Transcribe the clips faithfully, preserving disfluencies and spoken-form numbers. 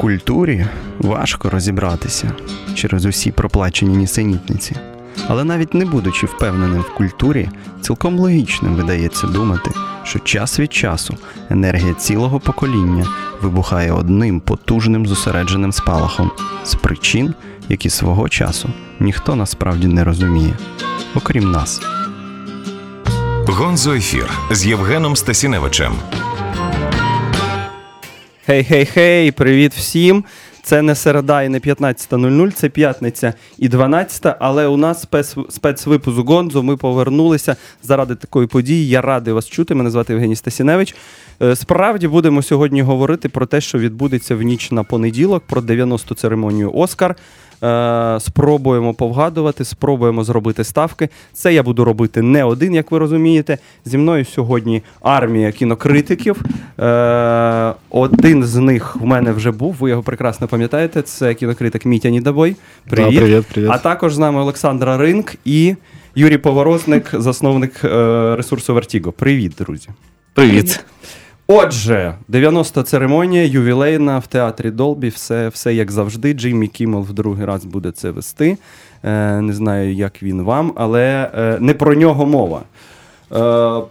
культурі важко розібратися через усі проплачені нісенітниці. Але навіть не будучи впевненим в культурі, цілком логічним видається думати, що час від часу енергія цілого покоління вибухає одним потужним зосередженим спалахом з причин, які свого часу ніхто насправді не розуміє, окрім нас. Гонзо-ефір з Євгеном Стасіневичем. Хей-хей-хей, привіт всім! Це не середа і не п'ятнадцята нуль нуль, це п'ятниця і дванадцята, але у нас спец, спецвипуск Гонзо, ми повернулися заради такої події. Я радий вас чути, мене звати Євгеній Стасіневич. Справді будемо сьогодні говорити про те, що відбудеться в ніч на понеділок, про дев'яносту церемонію «Оскар». Спробуємо повгадувати, спробуємо зробити ставки. Це я буду робити не один, як ви розумієте. Зі мною сьогодні армія кінокритиків. Один з них в мене вже був, ви його прекрасно пам'ятаєте. Це кінокритик Мітя Нідабой. Привіт. Да, привіт, привіт. А також з нами Олександра Ринк і Юрій Поворозник, засновник ресурсу Vertigo. Привіт, друзі. Привіт. Отже, дев'яноста церемонія, ювілейна, в театрі Долбі, все, все як завжди. Джиммі Кіммел в другий раз буде це вести. Е, не знаю, як він вам, але е, не про нього мова. Е,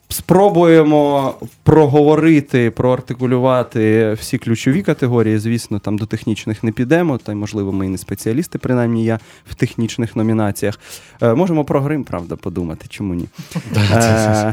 спробуємо проговорити, проартикулювати всі ключові категорії. Звісно, там до технічних не підемо, та й, можливо, ми і не спеціалісти, принаймні я в технічних номінаціях. Е, можемо про грим, правда, подумати, чому ні. Е,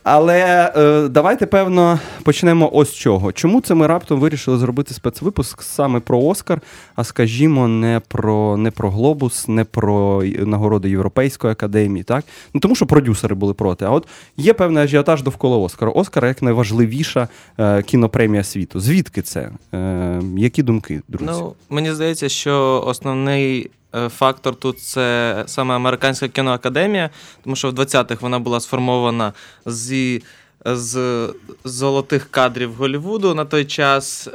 Але е, давайте, певно, почнемо ось з чого. Чому це ми раптом вирішили зробити спецвипуск саме про «Оскар», а, скажімо, не про, не про «Глобус», не про нагороди Європейської академії, так? Ну, тому що продюсери були проти. А от є певний ажіотаж довкола «Оскара». «Оскар» як найважливіша е, кінопремія світу. Звідки це? Е, які думки, друзі? Ну, мені здається, що основний фактор тут – це саме Американська кіноакадемія, тому що в двадцятих вона була сформована зі, з золотих кадрів Голлівуду на той час,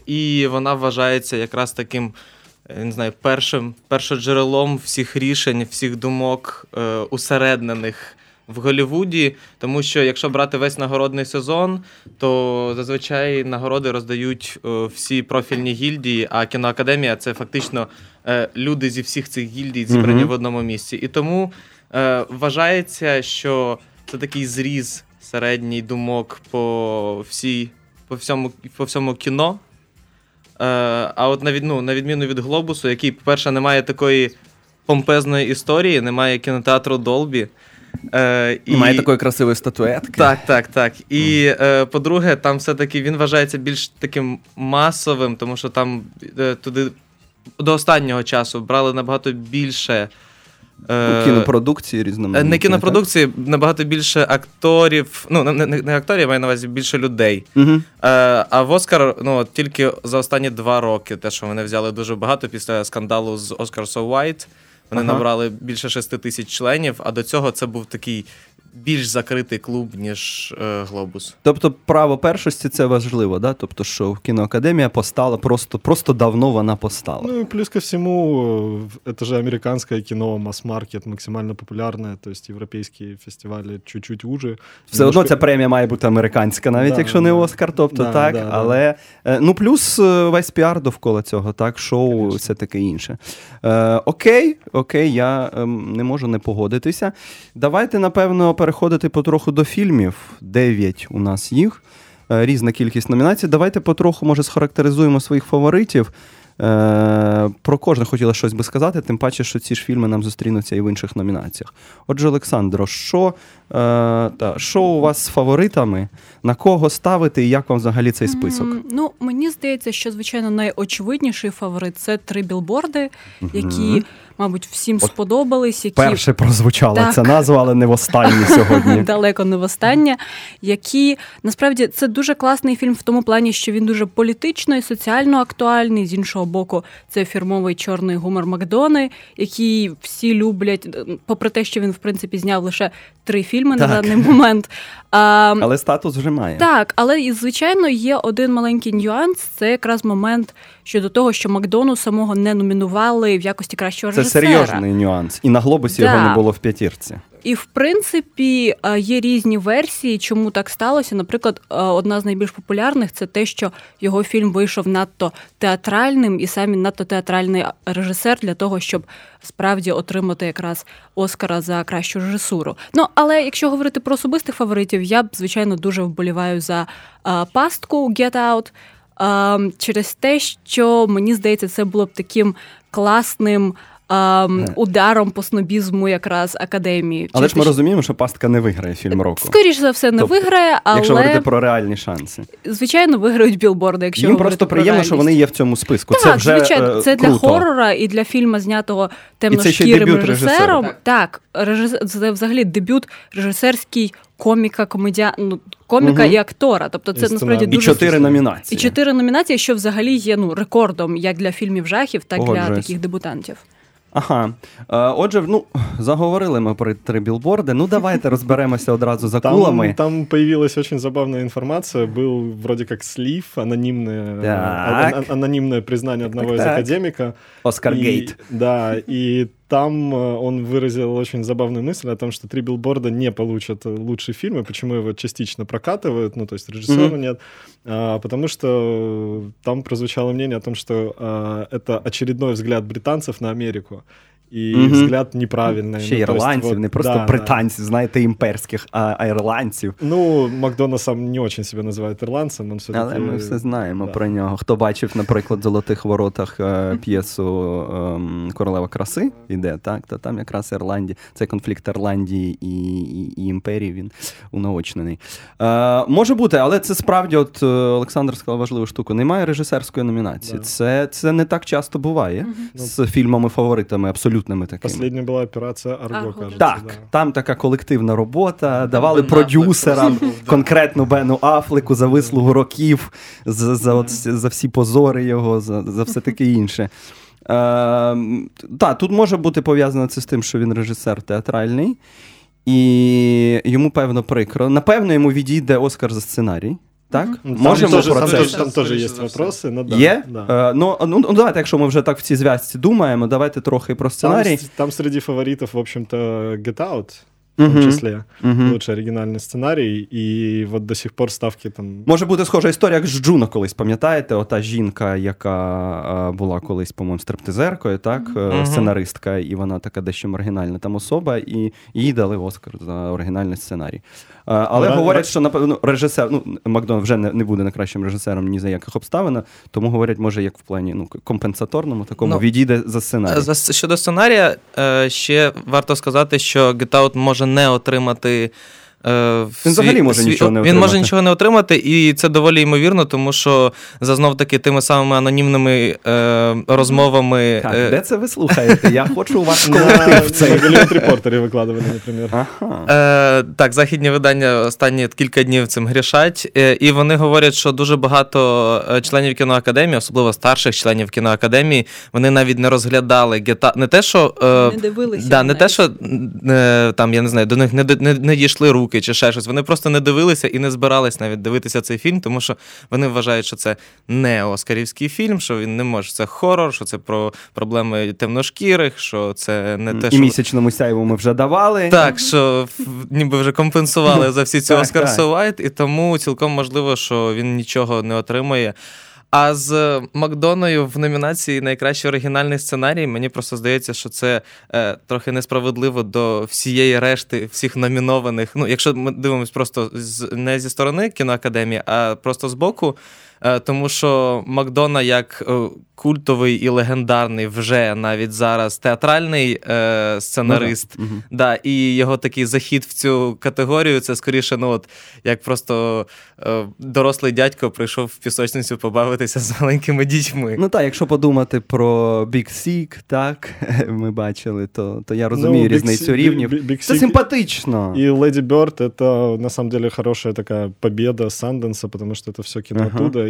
і вона вважається якраз таким, я не знаю, першим, першоджерелом всіх рішень, всіх думок, усереднених в Голлівуді, тому що якщо брати весь нагородний сезон, то зазвичай нагороди роздають е, всі профільні гільдії, а кіноакадемія – це фактично е, люди зі всіх цих гільдій зібрані mm-hmm. в одному місці. І тому е, вважається, що це такий зріз середній думок по, всій, по, всьому, по всьому кіно. Е, а от на, від, ну, на відміну від «Глобусу», який, по-перше, не має такої помпезної історії, немає кінотеатру Долбі, Е, і має такої красивої статуетки. Так, так, так. І, е, по-друге, там все-таки він вважається більш таким масовим, тому що там е, туди до останнього часу брали набагато більше... Е, У кінопродукції різноманітні. Не кінопродукції, так? Набагато більше акторів, ну, не, не, не акторів, а маю на увазі більше людей. Угу. Е, а в «Оскар», ну, тільки за останні два роки, те, що вони взяли дуже багато після скандалу з «Oscar So White», вони ага. набрали більше шести тисяч членів, а до цього це був такий більш закритий клуб, ніж е, «Глобус». Тобто право першості – це важливо, да? Тобто, що кіноакадемія постала, просто, просто давно вона постала. Ну и плюс ко всему, это же американское кино, масс-маркет, максимально популярное, то есть европейские фестивалі чуть-чуть уже. Все немножко... одно ця премія має бути американська, навіть да, якщо не «Оскар», тобто да, так, да, але, да. ну плюс весь піар довкола цього, так, шоу, Конечно. Все таке інше. Е, окей, окей, я е, не можу не погодитися. Давайте, напевно, переходити потроху до фільмів. Дев'ять у нас їх. Різна кількість номінацій. Давайте потроху, може, схарактеризуємо своїх фаворитів. Е, про кожне хотіла щось би сказати, тим паче, що ці ж фільми нам зустрінуться і в інших номінаціях. Отже, Олександро, що, е, та, що у вас з фаворитами? На кого ставити і як вам взагалі цей список? Mm, ну, мені здається, що, звичайно, найочевидніший фаворит – це «Три білборди», які, mm-hmm. мабуть, всім От сподобались. Які... Перше прозвучала так. ця назва, але не востаннє сьогодні. Далеко не востаннє. Які, насправді, це дуже класний фільм в тому плані, що він дуже політично і соціально актуальний. З іншого боку, це фірмовий чорний гумор Макдони, який всі люблять, попри те, що він, в принципі, зняв лише три фільми так. на даний момент. А, але статус вже має. Так, але, звичайно, є один маленький нюанс. Це якраз момент щодо того, що Макдону самого не номінували в якості кращого це серйозний нюанс. І на «Глобусі» Да. його не було в п'ятірці. І, в принципі, є різні версії, чому так сталося. Наприклад, одна з найбільш популярних – це те, що його фільм вийшов надто театральним, і сам він надто театральний режисер для того, щоб справді отримати якраз Оскара за кращу режисуру. Ну, але якщо говорити про особистих фаворитів, я б, звичайно, дуже вболіваю за а, пастку «Get Out», а, через те, що, мені здається, це було б таким класним Um, ударом по снобізму якраз Академії. Але Через ж ми те, розуміємо, що «Пастка» не виграє фільм року. Скоріш за все, не тобто, виграє, але... Якщо говорити про реальні шанси. Звичайно, виграють «Білборди», якщо Їм говорити просто про приємно, реальність. що вони є в цьому списку. Так, це вже звичайно, це круто. для хорора і для фільму, знятого І це ще й темношкірим дебют режисером. режисера. Так, режисер, це взагалі дебют режисерський коміка, комедіа... ну, коміка Угу. і актора. Тобто це І насправді І дуже... чотири номінації. І чотири номінації, що взагалі є ну, рекордом як для фільмів жахів, так і для Погоджуюсь. таких дебютантів. Ага. Е, Отже, ну, заговорили ми про три білборди. Ну, давайте розберемося одразу за Там, кулами. там появилась очень забавная информация. Был вроде как слив, анонимное, Так. а- а- анонимное признание одного Так, из так. академика. Оскар И- Гейт. Да, и там э, он выразил очень забавную мысль о том, что «Три билборда» не получат лучший фильм, и почему его частично прокатывают, ну, то есть режиссера Мгм. нет, а, потому что там прозвучало мнение о том, что а, это очередной взгляд британцев на Америку. І Мгм. взгляд неправильний. Ще ну, то есть, ірландців, вот, не просто да, британців, знаєте, імперських, а, а ірландців. да. Ну, Макдона сам не очень себя называет ирландцем, он все-таки... Але ми все знаємо да. про нього. Хто бачив, наприклад, в «Золотих воротах» е, п'єсу ем, «Королева краси» іде, так? То там якраз Ірландія, цей конфлікт Ірландії і, і, і імперії, він унаочнений. Е, може бути, але це справді, от е, Олександр сказав важливу штуку, немає режисерської номінації. Да. Це, це не так часто буває з фільмами-фаворитами, абсолютними такими. Последняя была операция «Арго», «Арго», кажется. Так, да. там така колективна робота, давали Бен продюсерам, Аффлек просто був, да. конкретно Бену Аффлеку за вислугу років, за, за, от, за всі позори його, за, за все таке інше. Е, так, тут може бути пов'язано це з тим, що він режисер театральний, і йому, певно, прикро. Напевно, йому відійде Оскар за сценарій. Так? Ну, там Можемо тоже, про там це. тоже, там тоже Скоріше есть за все. вопросы. Ну, да, Є? да. Е, ну, ну, ну, давайте, якщо ми вже так в цій зв'язці думаємо, давайте трохи про Там, сценарій. с- там среди фаворитов, в общем-то, Get Out, в том Мгм. числе, Мгм. лучший оригинальный сценарий, и вот до сих пор ставки там... Може бути схожа історія, як з Джуно колись, пам'ятаєте? Ота жінка, яка е, була колись, по-моєму, стриптизеркою, так? Е, Мгм. Сценаристка, і вона така дещо маргінальна там особа, і їй дали Оскар за оригінальний сценарій. Е, але Ра- говорять, ра- що, напевно, режисер, ну, Макдон вже не, не буде найкращим режисером ні за яких обставин, тому говорять, може, як в плані ну, компенсаторному, такому, Ну, відійде за сценарій. За- Щодо сценарія, е, ще варто сказати, що Get Out може не отримати. е, Він взагалі може нічого не Він отримати. може нічого не отримати, і це доволі ймовірно, тому що за знов-таки тими самими анонімними е, розмовами. Так, е, де це ви слухаєте? Я хочу ваш На, колектив цей. на Голливуд Репортере выкладывали, например. Ага. Е, так, західні видання останні кілька днів цим грішать, е, і вони говорять, що дуже багато е, членів кіноакадемії, особливо старших членів кіноакадемії, вони навіть не розглядали гета не те, що е, Не дивилися да, не навіть. те, що е, там я не знаю, до них не, не, не дійшли руки чи ще щось. Вони просто не дивилися і не збирались навіть дивитися цей фільм, тому що вони вважають, що це не оскарівський фільм, що він не може, це хорор, що це про проблеми темношкірих, що це не те, І що місячному сяйву ми вже давали. так, що в- ніби вже компенсували за всі ці Так, Оскар так. So White, і тому цілком можливо, що він нічого не отримає. А з Макдоною в номінації «Найкращий оригінальний сценарій» мені просто здається, що це е, трохи несправедливо до всієї решти всіх номінованих. Ну, якщо ми дивимося просто з, не зі сторони кіноакадемії, а просто з боку, е, тому що Макдона як е, культовий і легендарний вже навіть зараз театральний е, сценарист, Мгм. да, і його такий захід в цю категорію, це скоріше, ну от, як просто е, дорослий дядько прийшов в пісочницю побавитися з маленькими дітьми. Ну так, якщо подумати про Big Sick, так, ми бачили, то, то я розумію Ну, Big різницю Sick- рівнів. Big- Big Це Sick симпатично. И «Леди Бёрд» — это, на самом деле, хорошая такая победа Санденса, потому что это все кино Ага. оттуда,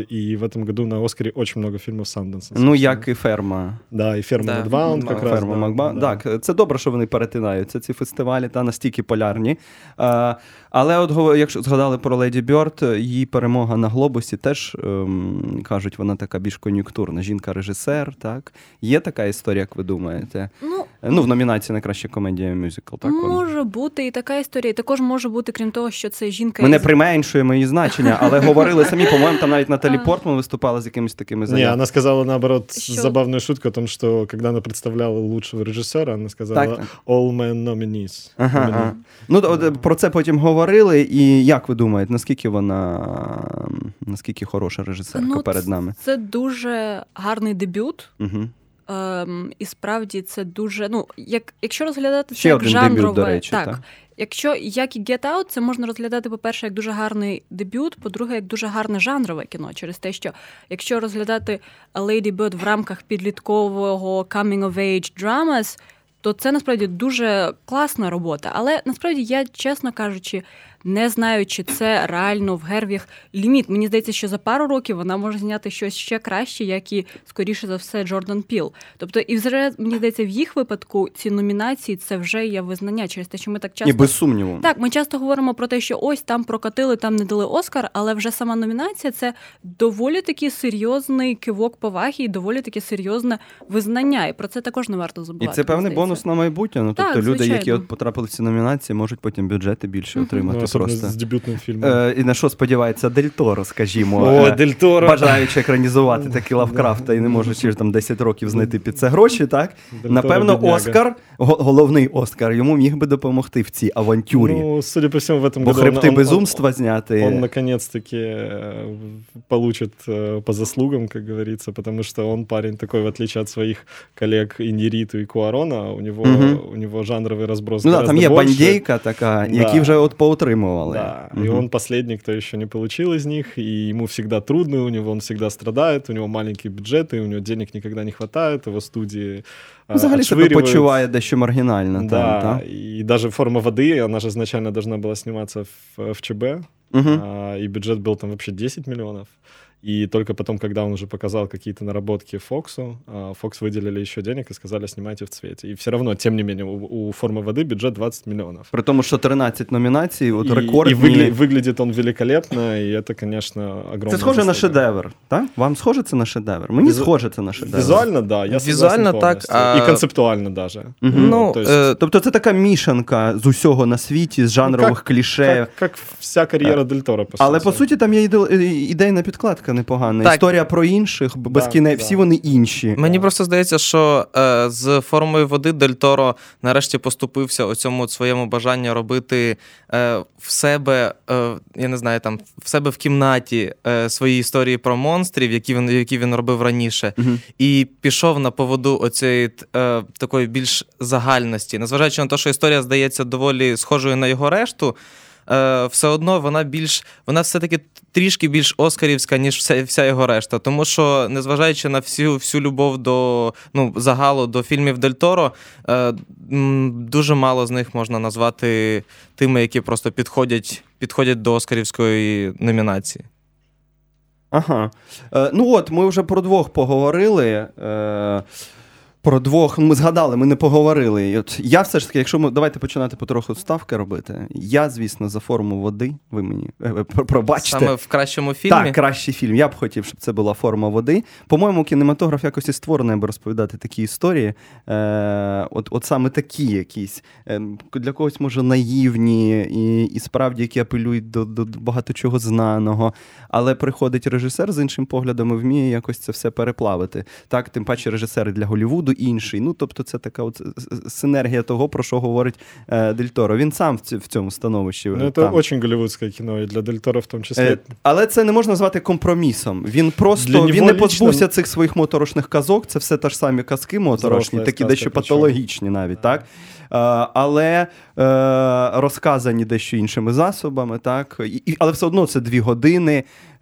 и в этом году на Оскаре очень много фильмов Санденса. Ну, як і «Ферма». Да, і «Ферма Да. Медваунд» как раз. «Ферма да, Макба». да. Так, це добре, що вони перетинаються, ці фестивалі, та настільки полярні. А, але от го- якщо згадали про Леді Бьорд, її перемога на «Глобусі» теж, ем, кажуть, вона така більш кон'юнктурна. Жінка-режисер, так? Є така історія, як ви думаєте? Ну, Ну, в номінації «Найкраща комедія мюзикл», так? вона? може бути і така історія. І також може бути, крім того, що це жінка Ми не із- применшуємо її значення, але говорили самі, по-моєму, там навіть Наталі Портман виступала з якимись такими Не, заявами. она сказала, наоборот, Що? забавную шутку о том, что когда она представляла лучшего режиссера, она сказала Так, так. «all men nominees». Ага, Номіні- ага. Ну, от, про це потім говорили, і як ви думаєте, наскільки вона, наскільки хороша режисерка Ну, перед нами? Це дуже гарний дебют. Угу. Ем, і справді це дуже. Ну, як, якщо розглядати Ще це як один жанрове, дебют, до речі, так. так. Якщо як і Get Out, це можна розглядати, по-перше, як дуже гарний дебют, по-друге, як дуже гарне жанрове кіно. Через те, що якщо розглядати Lady Bird в рамках підліткового coming-of-age dramas, то це насправді дуже класна робота. Але насправді я, чесно кажучи, не знаю, чи це реально в Гервіг ліміт. Мені здається, що за пару років вона може зняти щось ще краще, як і, скоріше за все, Джордан Піл. Тобто, і вже, мені здається, в їх випадку ці номінації – це вже є визнання, через те, що ми так часто... І без сумніву. Так, ми часто говоримо про те, що ось там прокатили, там не дали Оскар, але вже сама номінація – це доволі таки серйозний кивок поваги і доволі таки серйозне визнання. І про це також не варто І забувати. це певний мені здається. бонус на майбутнє. Ну, Так, тобто люди, звичайно. які от потрапили в ці номінації, можуть потім бюджети більше Мгм. отримати Ну, особенно просто. с дебютным фильмом. Е, і на що сподівається Дель Торо, скажімо. О, е, Дель Торо. Бажаючи екранізувати такі Лавкрафта і не можучи ж там десять років знайти під це гроші, так? Дель Торо Напевно, бідняга. Оскар, го- головний Оскар, йому міг би допомогти в цій авантюрі. Ну, судя по всему, в этом Бо году хребти он- он- безумства зняти. Он, наконец-таки, э, получит э, по заслугам, как говорится, потому что он парень такой, в отличие от своих коллег Иньярриту и Куарона, у него, Мгм. у него жанровый разброс Ну да, гораздо там є больше. бандейка така, Да. які вже от поотримували. Да, Мгм. и он последний, кто еще не получил из них, и ему всегда трудно, у него он всегда страдает, у него маленькие бюджеты, у него денег никогда не хватает, его студии Ну, взагалі себе отшвыривают. почуває дещо маргінально. Да, Там, та? и даже «Форма воды», она же изначально должна была сниматься в, в ЧБ, Мгм. а, и бюджет был там вообще десять миллионов. И только потом, когда он уже показал какие-то наработки Фоксу, Фокс выделили еще денег и сказали, снимайте в цвете. И все равно, тем не менее, у, у «Формы воды» бюджет двадцать миллионов. При тому, що тринадцять номінацій, от и, рекордні. и выгля- выглядит он великолепно, и это, конечно, огромное. Це схоже на заслуга. шедевр, так? Вам схоже це на шедевр? Мені Візу- схоже це на шедевр. Визуально, да, я Визуально согласен так, полностью. а- И концептуально даже. Мгм. Ну, то есть- е, Тобто це така мішанка з усього на світі, з жанрових кліше. Как, как вся карьера Дель Торо, по Але сути. по суті там є іде- ідейна підкладка непогана. Так. Історія про інших, б- безкіне... да. всі вони інші. Мені просто здається, що е, з «Формою води» Дель Торо нарешті поступився у цьому своєму бажанню робити е, в себе, е, я не знаю, там в себе в кімнаті е, свої історії про монстрів, які він, які він робив раніше, Мгм. і пішов на поводу оцієї е, такої більш загальності. Незважаючи на те, що історія здається доволі схожою на його решту, е, все одно вона більш, вона все-таки трішки більш оскарівська, ніж вся, вся його решта. Тому що, незважаючи на всю, всю любов до, ну, загалу до фільмів Дель Торо, е, м, дуже мало з них можна назвати тими, які просто підходять, підходять до оскарівської номінації. Ага. Е, ну от, ми вже про двох поговорили. Е, про двох, ми згадали, ми не поговорили. І от я все ж таки, якщо ми, давайте починати потроху ставки робити. Я, звісно, за «Форму води», ви мені е, е, пробачте. Саме в кращому фільмі. Так, кращий фільм. Я б хотів, щоб це була «Форма води». По-моєму, кінематограф якось і створений, аби розповідати такі історії. Е, от, от саме такі якісь. Е, для когось, може, наївні і, і справді, які апелюють до, до, до багато чого знаного. Але приходить режисер з іншим поглядом і вміє якось це все переплавити. Так, тим паче режисери для Голлівуду інший. Ну, тобто це така от синергія того, про що говорить е, Дель Торо. Він сам в, ці, в цьому становищі. Ну, это там. очень голливудское кино, и для Дель Торо в том числе. Е, але це не можна назвати компромісом. Він просто Для він нього не лично- позбувся цих своїх моторошних казок. Це все та ж самі казки моторошні, Взрослая такі сказка, дещо причому. патологічні навіть, так? Е, але е, розказані дещо іншими засобами, так? І, і- але все одно це дві години.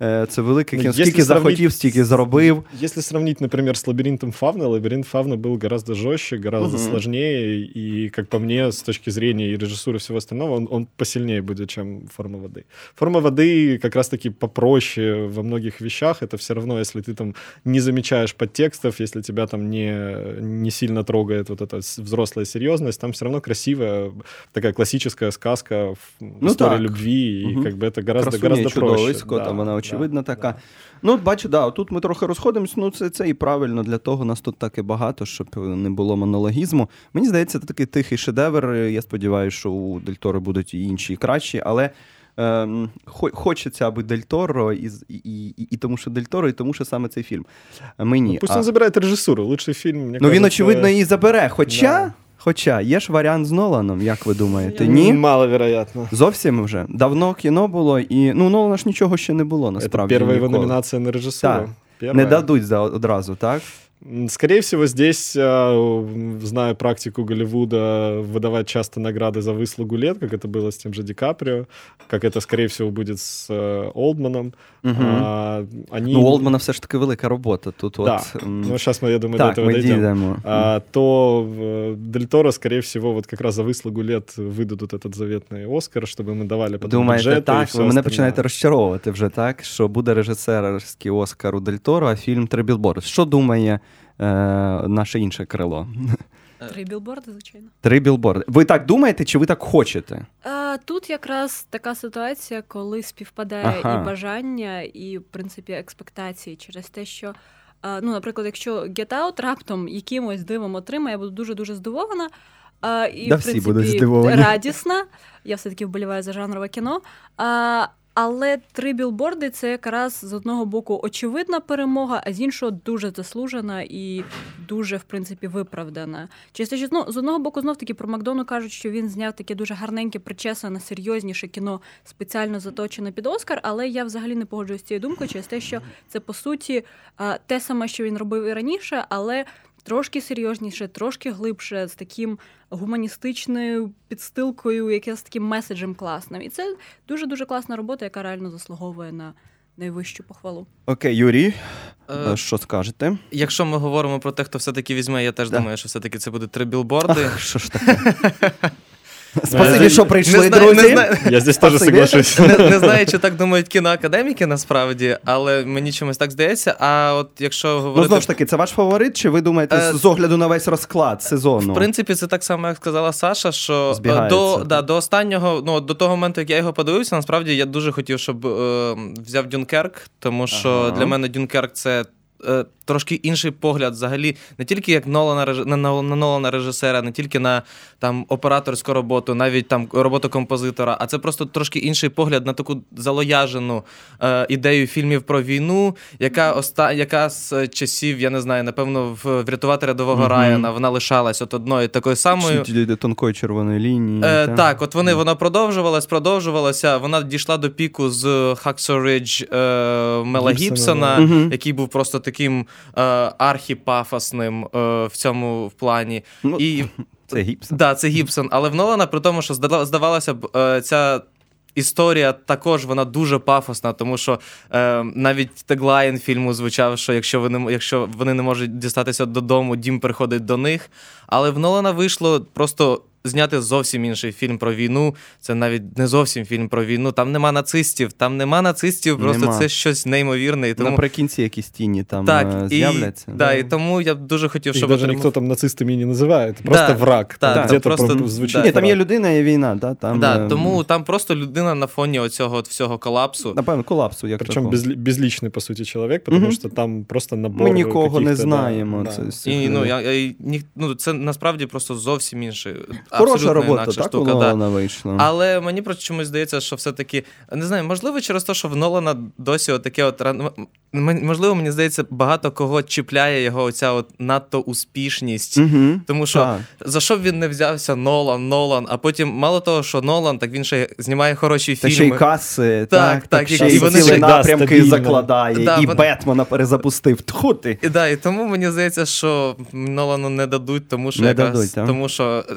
Е, Це велике Ну, кіно. якщо Скільки сравнить захотів, стільки зробив. Если сравнить, например, с «Лабиринтом Фавна», «Лабиринт Фавна» был гораздо жестче, гораздо Мгм. сложнее, и, как по мне, с точки зрения и режиссуры и всего остального, он, он посильнее будет, чем «Форма воды». «Форма воды» как раз-таки попроще во многих вещах. Это все равно, если ты там не замечаешь подтекстов, если тебя там не, не сильно трогает вот эта с- взрослая серьезность, там все равно красивая такая классическая сказка, в- Ну история так. любви, Мгм. и как бы это гораздо, Красуня гораздо і проще. чудовисько, Да, там вона да, очевидно така. да. Ну, от бачу, да, тут ми трохи розходимось, ну це, це і правильно, для того нас тут так і багато, щоб не було монологізму. Мені здається, це такий тихий шедевр, я сподіваюся, що у Дель Торо будуть і інші, і кращі, але ем, хо- хочеться, аби Дель Торо, і, з- і, і, і тому, що Дель Торо, і тому, що саме цей фільм. Мені. Ну, пусть а, он забирает режиссуру, лучший фильм, мне ну кажется... він, очевидно, її забере, хоча, Да. хоча є ж варіант з Ноланом, як ви думаєте, м, ні? Маловероятно. Зовсім вже. Давно кіно було, і ну, Нолана ж нічого ще не було, насправді. Это первая его ніколи. номинация на режиссуру. Так. Первая. Не дадуть за одразу, так? М, Скорее всего, здесь, э, зная практику Голливуда, выдавать часто награды за выслугу лет, как это было с тем же Ди Каприо, как это, скорее всего, будет с э, Олдманом. Угу. А, они... Ну, у Олдмана все ж таки велика робота. Тут Да, от, м, ну сейчас мы, я думаю, так, до этого ми дойдем. дійдемо. А, то э, Дель Торо, скорее всего, вот как раз за выслугу лет выдадут этот заветный Оскар, чтобы мы давали потом Думаєте, бюджеты и так? всё Ви мене остальное. починаєте розчаровувати вже, так? Що буде режисерський Оскар у Дель Торо, а фільм «Три білборди». Що думає е, наше інше крило? Три білборди, звичайно. «Три білборди». Ви так думаєте, чи ви так хочете? А, тут якраз така ситуація, коли співпадає Ага. і бажання, і, в принципі, експектації через те, що, а, ну, наприклад, якщо Get Out раптом якимось дивом отримає, я буду дуже-дуже здивована. А, і, Да в всі принципі, будуть здивовані. радісна. Я все-таки вболіваю за жанрове кіно. А, але «Три білборди» — це якраз з одного боку очевидна перемога, а з іншого дуже заслужена і дуже, в принципі, виправдана. Через те, що, ну, з одного боку, знов-таки про Макдону кажуть, що він зняв таке дуже гарненьке, причесане, серйозніше кіно, спеціально заточене під Оскар, але я взагалі не погоджуюсь з цією думкою через те, що це, по суті, а, те саме, що він робив і раніше, але трошки серйозніше, трошки глибше, з таким гуманістичною підстилкою, яке з таким меседжем класним. І це дуже-дуже класна робота, яка реально заслуговує на найвищу похвалу. Окей, Юрій, Е, що скажете? Якщо ми говоримо про те, хто все-таки візьме, я теж Да. думаю, що все-таки це буде «Три білборди». Ах, що ж таке? Спасибі, знаю- що прийшли, не знаю, друзі. не знаю. Я здесь тоже Спасибі. соглашусь. Не, не знаю, чи так думають кіноакадеміки насправді, але мені чомусь так здається. А от якщо Ну, говорити... знову ж таки, це ваш фаворит, чи ви думаєте Е, з огляду на весь розклад сезону? В принципі, це так само, як сказала Саша, що Збігається. до, да, до останнього, ну, до того моменту, як я його подивився, насправді я дуже хотів, щоб е, взяв Дюнкерк, тому що Ага. для мене Дюнкерк це е, трошки інший погляд взагалі, не тільки як Нолана, реж- на, на, на Нолана режисера, не тільки на там, операторську роботу, навіть там роботу композитора, а це просто трошки інший погляд на таку залояжену е, ідею фільмів про війну, яка, оста... яка з часів, я не знаю, напевно, в «Врятувати рядового Мгм. Райана» вона лишалась от одною такою самою. Чи до тонкої червоної лінії. Е, та? так, от вони, вона продовжувалась, продовжувалася. Вона дійшла до піку з Hacksaw Ridge е, Мела Гібсона, Гібсона, Мгм. який був просто таким е, архіпафосним е, в цьому в плані. Ну, І це Гібсон. да, це Гібсон. Але в Нолана, при тому, що здала- здавалося б, е, ця історія також вона дуже пафосна, тому що е, навіть теглайн фільму звучав, що якщо вони, якщо вони не можуть дістатися додому, дім приходить до них. Але в Нолана вийшло просто зняти зовсім інший фільм про війну. Це навіть не зовсім фільм про війну. Там нема нацистів, там нема нацистів, просто Нема. це щось неймовірне. І тому... Наприкінці якісь тіні там Так, е, і, з'являться. да, і тому я б дуже хотів, Их щоб даже отримав- никто там нацистами и не называет. Просто Да, враг. да, Там там где-то просто- про- звучит да. Ні, там є враг. людина, є війна, да, там, Да, е, тому там просто людина на фоні оцього от всього колапсу. напевно, колапсу, як Причем такого. безли- безличный, по сути, человек, потому Мгм. что там просто набор Ми нікого не каких-то, да, знаємо. да. Це, з цих І, ну, людей. я, я, ні, ну, це насправді просто зовсім інше. Хороша абсолютно робота, інакша так, штука. у Да. Нолана вийшла. Але мені просто чомусь здається, що все-таки, не знаю, можливо, через те, що в Нолана досі таке от ран- м- можливо, мені здається, багато кого чіпляє його оця от надто успішність. Угу. Тому що Так. за що б він не взявся Нолан, Нолан, а потім мало того, що Нолан, так він ще знімає хороші Та фільми. ще й каси, Так, так, так, ще і й вони цілі ще- да, напрямки стабільно. закладає, Да, і вони- Бетмена перезапустив. Тьху ти. І, да, і тому мені здається, що Нолану не дадуть, тому що Не якраз дадуть, так? тому що досить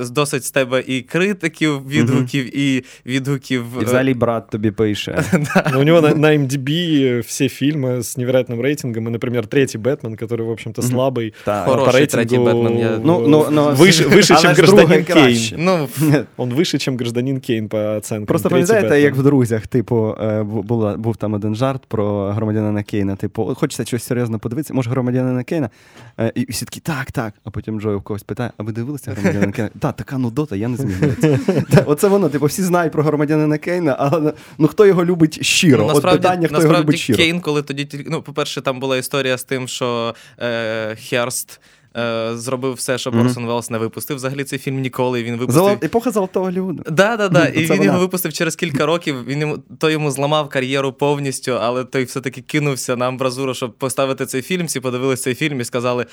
з тебе і критиків, відгуків, mm-hmm. і відгуків... І взагалі брат тобі пише. У него на, на эм ди би все фильмы с невероятным рейтингом, и, например, третий «Бэтмен», который, в общем-то, слабый mm-hmm. по рейтингу, третий «Бэтмен», я... ну, ну, ну, выше, выше чем «Гражданин Кейн». Ну, Он выше, чем «Гражданин Кейн» по оценкам. Просто пам'ятаєте, як в «Друзях», типу, була, був там один жарт про громадянина Кейна, типу, хочеться щось серйозно подивитися, може громадянина Кейна? І всі такі, так, так. А потім Джой у когось питає, а ви дивилися громадянина Кейна? Так, така нудота, я не зміг дивитися. Оце воно, типу, всі знають про громадянина Кейна, але ну хто його любить щиро? Ну, От питання, хто його любить щиро. Кейн, коли тоді, ну, по-перше, там була історія з тим, що е, Херст е, зробив все, щоб Орсон mm-hmm. Веллс не випустив взагалі цей фільм ніколи. Він випустив... Золо... Епоха Золотого Голлівуду. Да, да, да. І він вона. його випустив через кілька років. Він йому, той йому зламав кар'єру повністю, але той все-таки кинувся на амбразуру, щоб поставити цей фільм. Всі подивилися цей фільм і сказали...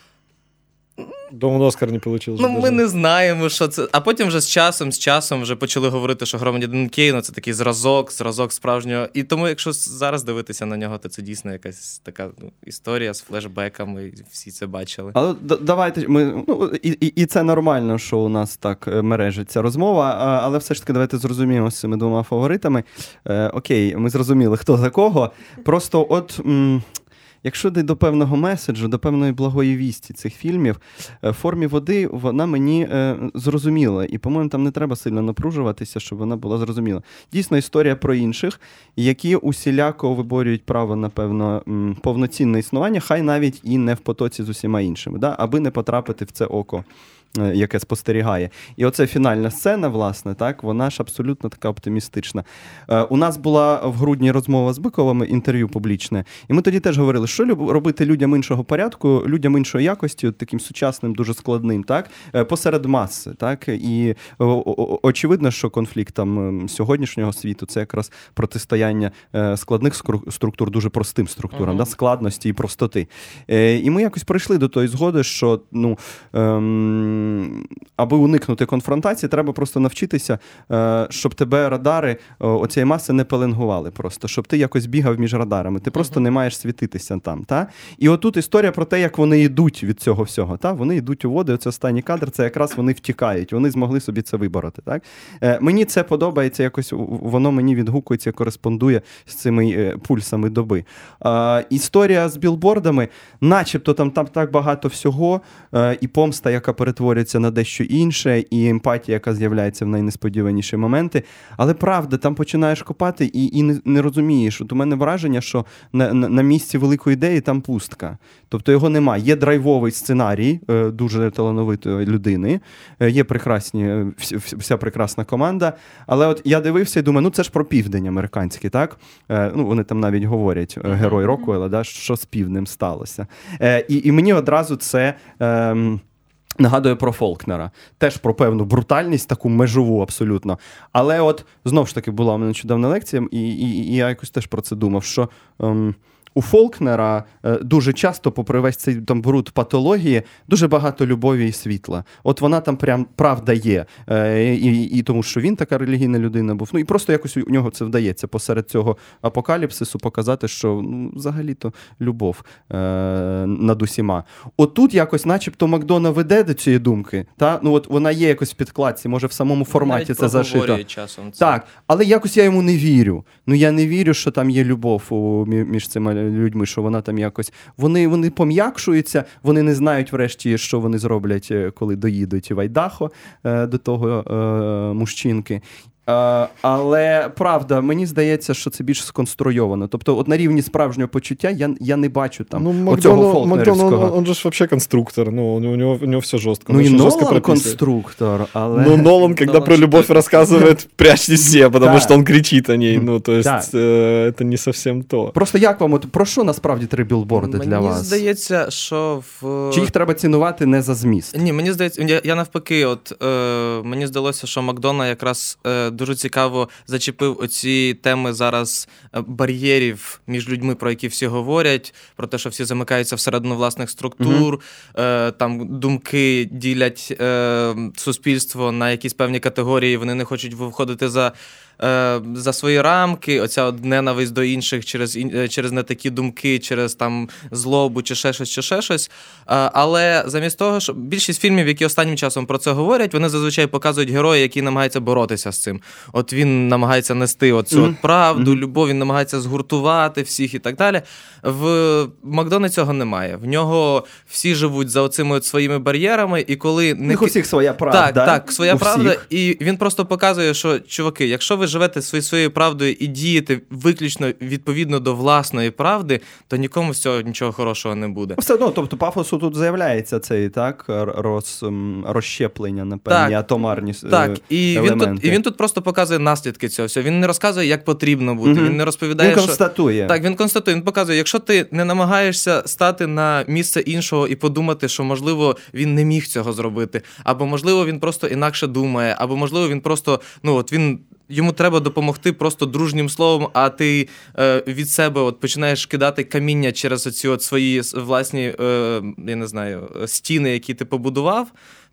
Думаю, Оскар не получилось. Ну, ми не знаємо, що це. А потім вже з часом, з часом вже почали говорити, що громадянин Кейна – це такий зразок, зразок справжнього. І тому, якщо зараз дивитися на нього, то це дійсно якась така ну, історія з флешбеками, і всі це бачили. Але д- давайте, ми, ну, і, і, і це нормально, що у нас так мережиться розмова, а, але все ж таки давайте зрозуміємо з цими двома фаворитами. Е, окей, ми зрозуміли, хто за кого. Просто от... М- Якщо йде до певного меседжу, до певної благої вісті цих фільмів, в формі води вона мені е, зрозуміла. І, по-моєму, там не треба сильно напружуватися, щоб вона була зрозуміла. Дійсно, історія про інших, які усіляко виборюють право на певно м, повноцінне існування, хай навіть і не в потоці з усіма іншими, да? Аби не потрапити в це око, яке спостерігає. І оце фінальна сцена, власне, так, вона ж абсолютно така оптимістична. Е, у нас була в грудні розмова з Биковим, інтерв'ю публічне, і ми тоді теж говорили, що люб, робити людям іншого порядку, людям іншої якості, от таким сучасним, дуже складним, так, е, посеред маси, так, і о, о, очевидно, що конфлікт там сьогоднішнього світу – це якраз протистояння е, складних структур дуже простим структурам, uh-huh. да, складності і простоти. Е, і ми якось прийшли до тої згоди, що, ну, ем, аби уникнути конфронтації, треба просто навчитися, щоб тебе радари оцієї маси не пеленгували просто, щоб ти якось бігав між радарами. Ти просто uh-huh. не маєш світитися там. Та? І отут історія про те, як вони йдуть від цього всього. Та? Вони йдуть у води, оце останній кадр, це якраз вони втікають, вони змогли собі це вибороти. Так? Мені це подобається, якось воно мені відгукується, кореспондує з цими пульсами доби. Історія з білбордами, начебто там, там так багато всього, і помста, яка перетворюється на дещо інше, і емпатія, яка з'являється в найнесподіваніші моменти. Але правда, там починаєш копати і, і не, не розумієш. От у мене враження, що на, на, на місці великої ідеї там пустка. Тобто його немає. Є драйвовий сценарій е, дуже талановитої людини, е, є прекрасні, вся, вся прекрасна команда, але от я дивився і думаю, ну це ж про південь американський, так? Е, ну, вони там навіть говорять, е, герой Роквелла, да, що з півднем сталося. Е, і, і мені одразу це... Е, нагадує про Фолкнера. Теж про певну брутальність, таку межову абсолютно. Але от, знов ж таки, була у мене нещодавна лекція, і, і, і я якось теж про це думав, що... Ем, у Фолкнера е, дуже часто, попри весь цей там бруд патології, дуже багато любові і світла. От вона там прям правда є. Е, і, і тому, що він така релігійна людина був. Ну і просто якось у нього це вдається посеред цього апокаліпсису показати, що ну, взагалі-то любов е, над усіма. Отут якось начебто Макдона веде до цієї думки. Та? Ну от вона є якось в підкладці, може в самому форматі навіть це зашито. Часом це. Так, але якось я йому не вірю. Ну я не вірю, що там є любов у, між цими людьми, що вона там якось... Вони, вони пом'якшуються, вони не знають врешті, що вони зроблять, коли доїдуть в Айдахо е, до того е, мужчинки. Uh, але, правда, мені здається, що це більш сконструйовано. Тобто, от на рівні справжнього почуття я, я не бачу там ну, оцього фолкнерівського. Макдон, он, он же ж вообще конструктор, ну, у него, у него все жестко. Ну, и Нолан конструктор, але... Ну, Нолан, когда Нолан про любовь рассказывает, прячьте все, потому что он кричит о ней. Ну, то есть, это не совсем то. Просто як вам, от про що насправді три білборди для вас? Мені здається, що в... Чи їх треба цінувати не за зміст? Ні, мені здається, я, я навпаки, от, е, мені здалося, що Макдона якраз е, дуже цікаво зачепив оці теми зараз бар'єрів між людьми, про які всі говорять, про те, що всі замикаються всередину власних структур, mm-hmm. е, там думки ділять е, суспільство на якісь певні категорії, вони не хочуть виходити за е, за свої рамки, оця от ненависть до інших через, через не такі думки, через там злобу чи ще щось, чи ще щось. Е, але замість того, що більшість фільмів, які останнім часом про це говорять, вони зазвичай показують героя, який намагається боротися з цим. От він намагається нести оцю mm-hmm. от правду, mm-hmm. любов, він намагається згуртувати всіх і так далі. В Макдоні цього немає. В нього всі живуть за оцими от своїми бар'єрами, і коли... У них усіх своя правда. Так, так, своя у правда. Всіх. І він просто показує, що, чуваки, якщо ви живете своєю, своєю правдою і дієте виключно відповідно до власної правди, то нікому з цього нічого хорошого не буде. Все одно, тобто пафосу тут з'являється цей, так, роз, розщеплення на певні так, атомарні так. І елементи. Він тут, і він тут просто показує наслідки цього всього. Він не розказує, як потрібно бути. Mm-hmm. Він не розповідає, він констатує. Що... Так, він констатує. Він показує, якщо ти не намагаєшся стати на місце іншого і подумати, що, можливо, він не міг цього зробити, або, можливо, він просто інакше думає, або, можливо, він просто, ну, от він... Йому треба допомогти просто дружнім словом, а ти е, від себе от починаєш кидати каміння через оці от свої власні, е, я не знаю, стіни, які ти побудував,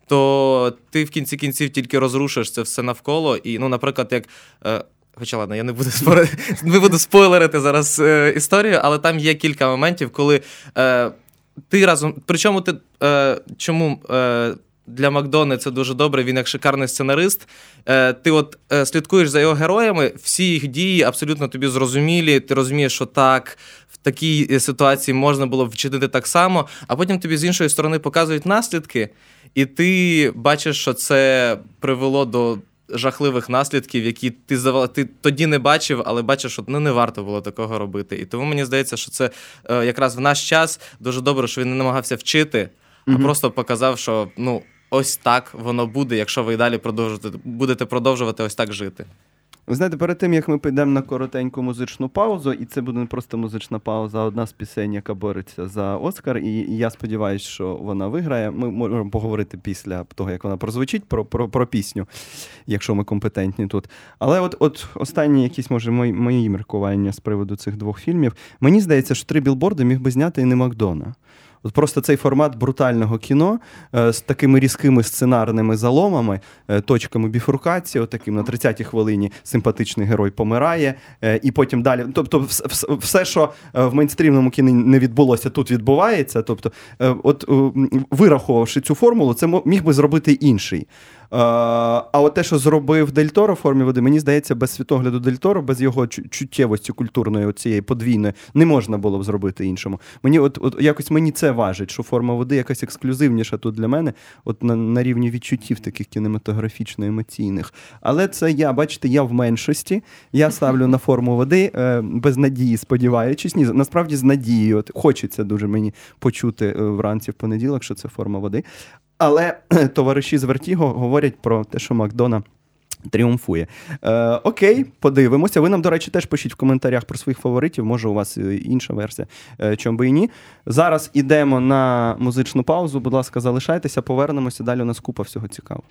то ти в кінці кінців тільки розрушиш це все навколо. І, ну, наприклад, як... Е, Хоча, ладно, я не буду, спори... не буду спойлерити зараз е, історію, але там є кілька моментів, коли е, ти разом... Причому ти... Е, чому... Е, Для Макдони це дуже добре, він як шикарний сценарист. Ти от слідкуєш за його героями, всі їх дії абсолютно тобі зрозумілі, ти розумієш, що так, в такій ситуації можна було б вчинити так само, а потім тобі з іншої сторони показують наслідки, і ти бачиш, що це привело до жахливих наслідків, які ти, ти тоді не бачив, але бачиш, що ну, не варто було такого робити. І тому мені здається, що це якраз в наш час дуже добре, що він не намагався вчити, а mm-hmm. просто показав, що ну, ось так воно буде, якщо ви і далі продовжуєте, будете продовжувати ось так жити. Ви знаєте, перед тим, як ми підемо на коротеньку музичну паузу, і це буде не просто музична пауза, а одна з пісень, яка бореться за Оскар, і я сподіваюся, що вона виграє. Ми можемо поговорити після того, як вона прозвучить, про, про, про пісню, якщо ми компетентні тут. Але от, от останні якісь, може, мої, мої міркування з приводу цих двох фільмів. Мені здається, що «Три білборди» міг би зняти і не Макдона. От просто цей формат брутального кіно е, з такими різкими сценарними заломами, е, точками біфуркації, отаким на тридцятій хвилині симпатичний герой помирає, е, і потім далі. Тобто все, все, що в мейнстрімному кіні не відбулося, тут відбувається. Тобто, е, от е, вирахувавши цю формулу, це міг би зробити інший. Uh, а от те, що зробив Дель Торо в «Формі води», мені здається, без світогляду Дель Торо, без його чуттєвості культурної, цієї подвійної, не можна було б зробити іншому. Мені от, от якось мені це важить, що «Форма води» якась ексклюзивніша тут для мене, от на, на рівні відчуттів таких кінематографічно-емоційних. Але це я, бачите, я в меншості, я ставлю на «Форму води», е, без надії, сподіваючись. Ні, насправді з надією. От, хочеться дуже мені почути вранці в понеділок, що це «Форма води». Але товариші з Вертіго говорять про те, що Макдона тріумфує. Е, окей, подивимося. Ви нам, до речі, теж пишіть в коментарях про своїх фаворитів. Може, у вас інша версія, е, чому би і ні. Зараз ідемо на музичну паузу. Будь ласка, залишайтеся, повернемося. Далі у нас купа всього цікавого.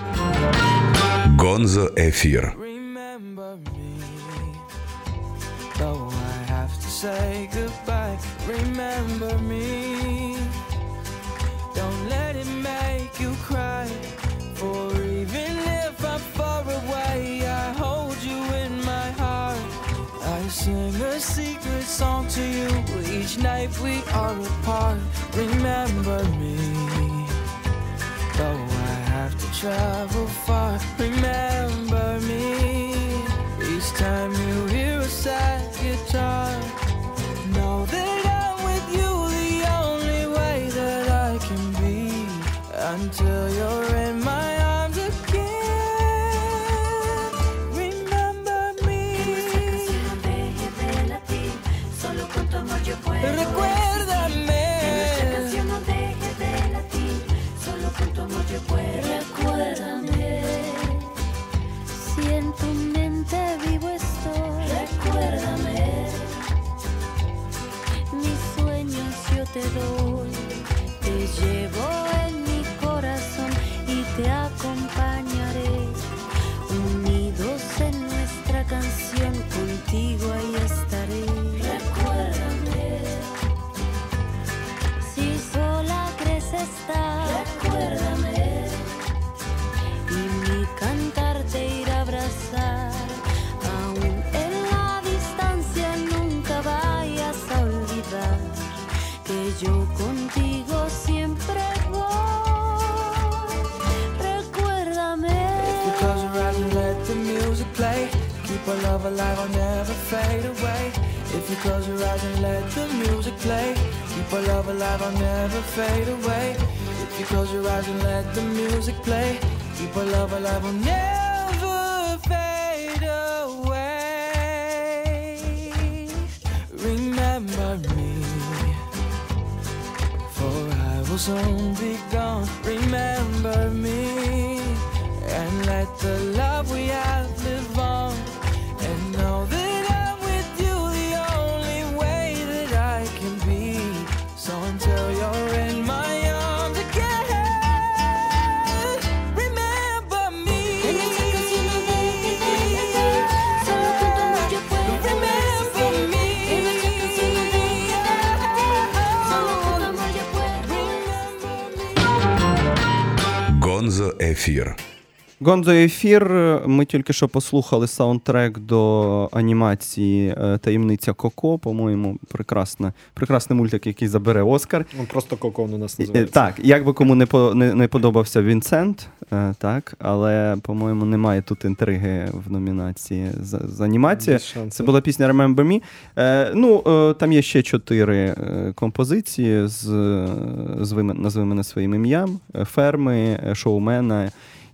Гонзо Ефір. Don't let it make you cry. For even if I'm far away, I hold you in my heart. I sing a secret song to you each night we are apart. Remember me, though I have to travel far. Remember me, each time you hear a sad guitar. Know that I'm with you the only way that I can be, until you're in my arms again. Remember me. Recuérdame. Recuérdame. Si en tu mente vivo estoy. Recuérdame. Mis sueños yo te doy. Te llevo en mi corazón y te acompañaré. Unidos en nuestra canción, contigo ahí estaré. Recuérdame. Si sola crees estar. Recuérdame. Y mi cantar te irá a abrazar. yo contigo siempre voy. Recuérdame. If you close your eyes and let the music play, keep our love alive, I'll never fade away. If you close your eyes and let the music play, keep our love alive, I'll never fade away. If you close your eyes and let the music play, keep our love alive, I'll never fade away. Remember me, for I will soon be gone. Remember me, and let the love we have live on. And know that I'm with you the only way that I can be. So until you're in my arms again, remember me. En esa canción no dejes de cantar, solo con tu amor yo puedo resistir. En esa canción no dejes de cantar, solo con tu amor yo puedo resistir. Гонзо Ефір. Гонзо ефір. Ми тільки що послухали саундтрек до анімації е, «Таємниця Коко». По-моєму, прекрасна, прекрасний мультик, який забере Оскар. Он просто Коко он у нас Е, называется. Так, як би кому не, по, не, не подобався Вінсент, е, так, але, по-моєму, немає тут інтриги в номінації за, за анімацію. Без шансів. Це була пісня Remember Me. Е, ну, е, там є ще чотири е, композиції з, з назви мене своїм ім'ям, е, Ферми, е, Шоумена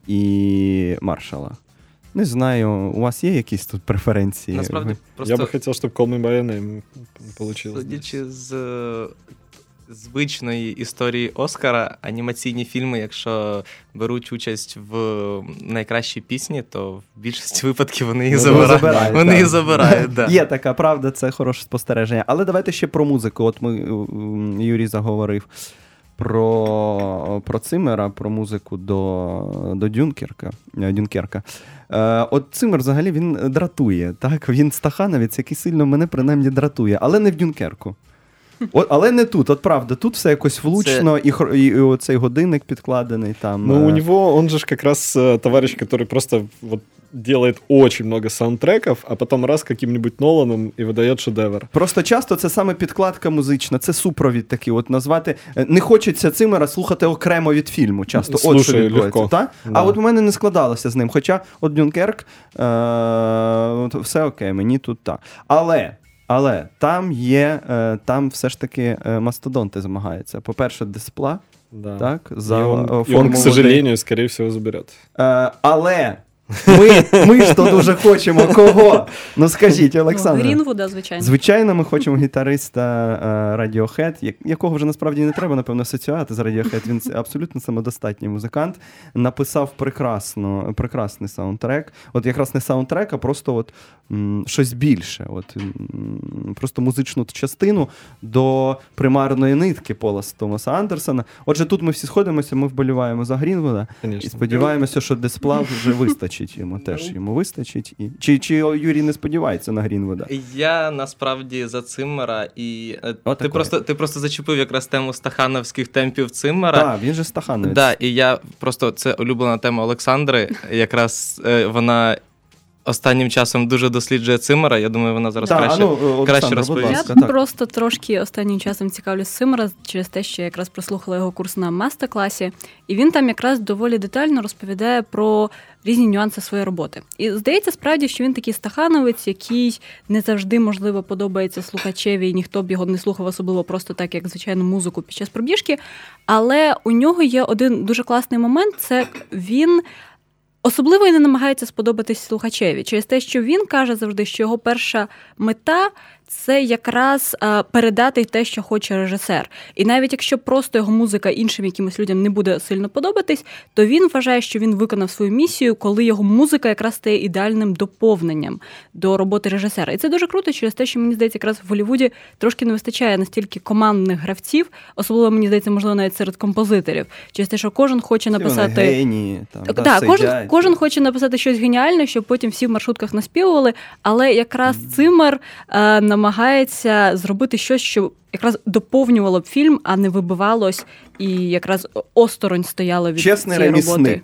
і Маршала. Не знаю, у вас є якісь тут преференції? Насправді, Ви- просто Я бы хотел, чтобы Call Me By Your Name получилось. судячи з е, звичної історії Оскара, анімаційні фільми, якщо беруть участь в найкращій пісні, то в більшості випадків вони її Ну, забирають. забирають, Вони так. її забирають, да. Є така правда, це хороше спостереження. Але давайте ще про музику. От ми, м, Юрій заговорив про, про Циммера, про музику до, до Дюнкерка. е, Дюнкерка. Е, от Циммер взагалі він дратує, так? Він стахановець, який сильно мене принаймні дратує, але не в Дюнкерку. От, але не тут, от правда, тут все якось влучно, і, хор- і, і оцей годинник підкладений там. Ну, у е, него, он же ж как раз э, товарищ, который просто вот делает очень много саундтреков, а потом раз каким-нибудь Ноланом и выдает шедевр. Просто часто це саме підкладка музична, це супровід такий, от назвати. е, Не хочеться Циммера слухати окремо від фільму. Часто от що Слушаю відбувається. легко. Та? Да. А от у мене не складалося з ним. Хоча от Дюнкерк, е- от все окей, мені тут так. Але, але там є, е- там все ж таки е, мастодонти змагаються. По-перше, Деспла, Да. так, И за он, е, и он, форму к води. сожалению, скорее всего, заберет. Е, але ми, ми ж то дуже хочемо кого? Ну скажіть, Олександр. Грінвуда, звичайно. Звичайно, ми хочемо гітариста е, Radiohead, як- якого вже насправді не треба, напевно, асоціювати з Radiohead. Він абсолютно самодостатній музикант. Написав прекрасно, прекрасний саундтрек. От якраз не саундтрек, а просто от, м, щось більше. От, м, просто музичну частину до примарної нитки Пола Томаса Андерсона. Отже, тут ми всі сходимося, ми вболіваємо за Грінвуда. І Конечно. сподіваємося, що Десплав вже вистачить йому. Теж йому вистачить. І... Чи, чи Юрій не сподівається на Грінвуда? Я насправді за Циммера, і е, ти, Отакої. просто, ти просто зачепив якраз тему стахановських темпів Циммера. Так, він же стахановець. Да, і я просто це улюблена тема Олександри. Якраз е, вона останнім часом дуже досліджує Циммера. Я думаю, вона зараз Так, краще. а ну, Олександра, краще будь розповість. ласка, Я так. просто трошки останнім часом цікавлюсь Циммера через те, що я якраз прослухала його курс на мастер-класі, і він там якраз доволі детально розповідає про різні нюанси своєї роботи. І здається, справді, що він такий стахановець, який не завжди, можливо, подобається слухачеві, і ніхто б його не слухав особливо просто так, як звичайну музику під час пробіжки. Але у нього є один дуже класний момент – це він особливо і не намагається сподобатись слухачеві. Через те, що він каже завжди, що його перша мета – це якраз а, передати те, що хоче режисер. І навіть якщо просто його музика іншим якимось людям не буде сильно подобатись, то він вважає, що він виконав свою місію, коли його музика якраз стає ідеальним доповненням до роботи режисера. І це дуже круто через те, що, мені здається, якраз в Голлівуді трошки не вистачає настільки командних гравців, особливо, мені здається, можливо, навіть серед композиторів. Через те, що кожен хоче Всі написати... вони генії. Там, Так, да, да, кожен, сидять. кожен хоче написати щось геніальне, щоб потім всі в маршрутках наспівували, але якраз Циммер е, намагається зробити щось, що якраз доповнювало б фільм, а не вибивалось і якраз осторонь стояло від Чесний цієї роботи. ремісник.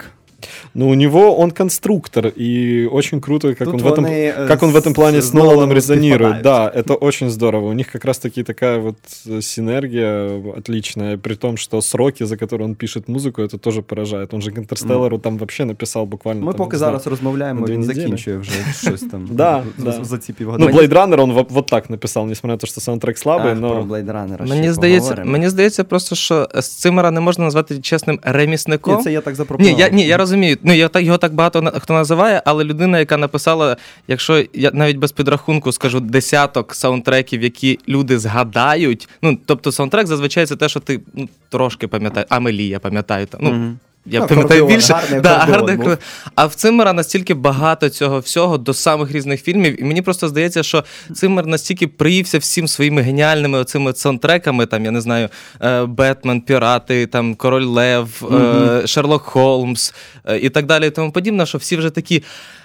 Ну, у него он конструктор, и очень круто, как, Тут он в, этом, вони, э, как он в этом плане с с Ноланом Ноланом резонирует. совпадают. Да, это очень здорово. У них как раз-таки такая вот э, синергия отличная, при том, что сроки, за которые он пишет музыку, это тоже поражает. Он же к «Интерстеллару» там вообще написал буквально... Ми там, поки не знаю, зараз розмовляємо, на дві він неділі. закінчує вже щось там Да, за, да. за ці Ну, півгодини. Blade Runner он вот, вот так написал, несмотря на то, что саундтрек слабый, Ах, но... про Blade Runner Мені ще здається, поговоримо. мені здається просто, що Циммера не можна назвати чесним ремісником. Ні, це я так запропонував. Ні, я, ні, я розумію. Ну, я, так- його так багато на- хто називає, але людина, яка написала, якщо я навіть без підрахунку скажу, десяток саундтреків, які люди згадають. Ну, тобто саундтрек зазвичай це те, що ти ну, трошки пам'ятаєш. Амелі, я пам'ятаю. та- Ну, Мгм. Я Ну, пам'ятаю акордеон, більше. гарний Да, акордеон гарний був. акордеон. А в Циммера настільки багато цього всього до самих різних фільмів, і мені просто здається, що Циммер настільки приївся всім своїми геніальними оцими саундтреками, там, я не знаю, е, Бетмен, Пірати, там, Король Лев, е, Шерлок Холмс е, і так далі і тому подібне, що всі вже такі.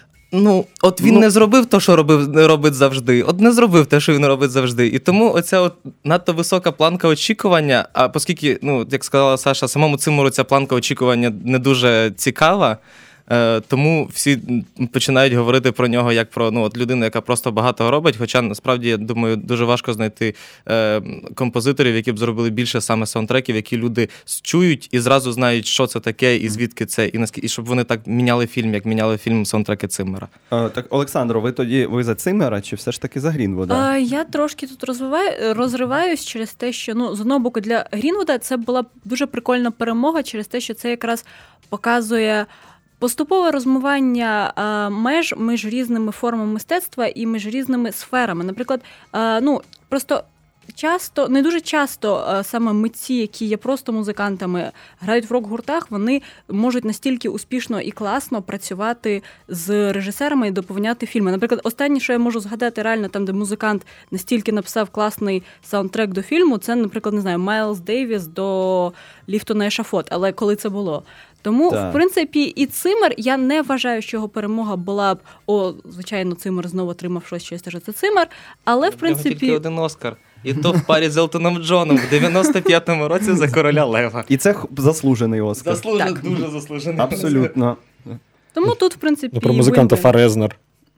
Ну, от він Ну, не зробив те, що робив, робить завжди. От не зробив те, що він робить завжди. І тому оця от надто висока планка очікування, а оскільки, ну, як сказала Саша, самому Циммеру ця планка очікування не дуже цікава, е, тому всі починають говорити про нього як про ну, от людину, яка просто багато робить. Хоча, насправді, я думаю, дуже важко знайти е, композиторів, які б зробили більше саме саундтреків, які люди чують і зразу знають, що це таке, і звідки це, і наскільки, і щоб вони так міняли фільм, як міняли фільм саундтреки Циммера. Е, Так, Олександро, ви тоді ви за Циммера чи все ж таки за Грінвуда? А, я трошки тут розвиваю, розриваюсь через те, що ну, з одного боку для Грінвуда це була дуже прикольна перемога через те, що це якраз показує поступове розмивання а, меж між різними формами мистецтва і між різними сферами. Наприклад, а, ну просто. Часто, не дуже часто а, саме митці, які є просто музикантами, грають в рок-гуртах, вони можуть настільки успішно і класно працювати з режисерами і доповняти фільми. Наприклад, останнє, що я можу згадати реально там, де музикант настільки написав класний саундтрек до фільму, це, наприклад, не знаю, Майлз Дейвіс до «Ліфту на ешафот», але коли це було. Тому, Так. в принципі, і Циммер, я не вважаю, що його перемога була б, о, звичайно, Циммер знову отримав щось через те, що це Циммер, але, в В нього тільки принципі... один Оскар. І то в парі з Елтоном Джоном в дев'яносто п'ятому році за «Короля Лева». І це х- заслужений Оскар. Заслужено, Так. дуже заслужений. Абсолютно. Тому тут, в принципі, Ну, про музиканта win-win. Фарезнер.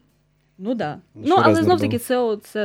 Ну, да. Ну, Ну, що але Резнер знов-таки був? це, о, це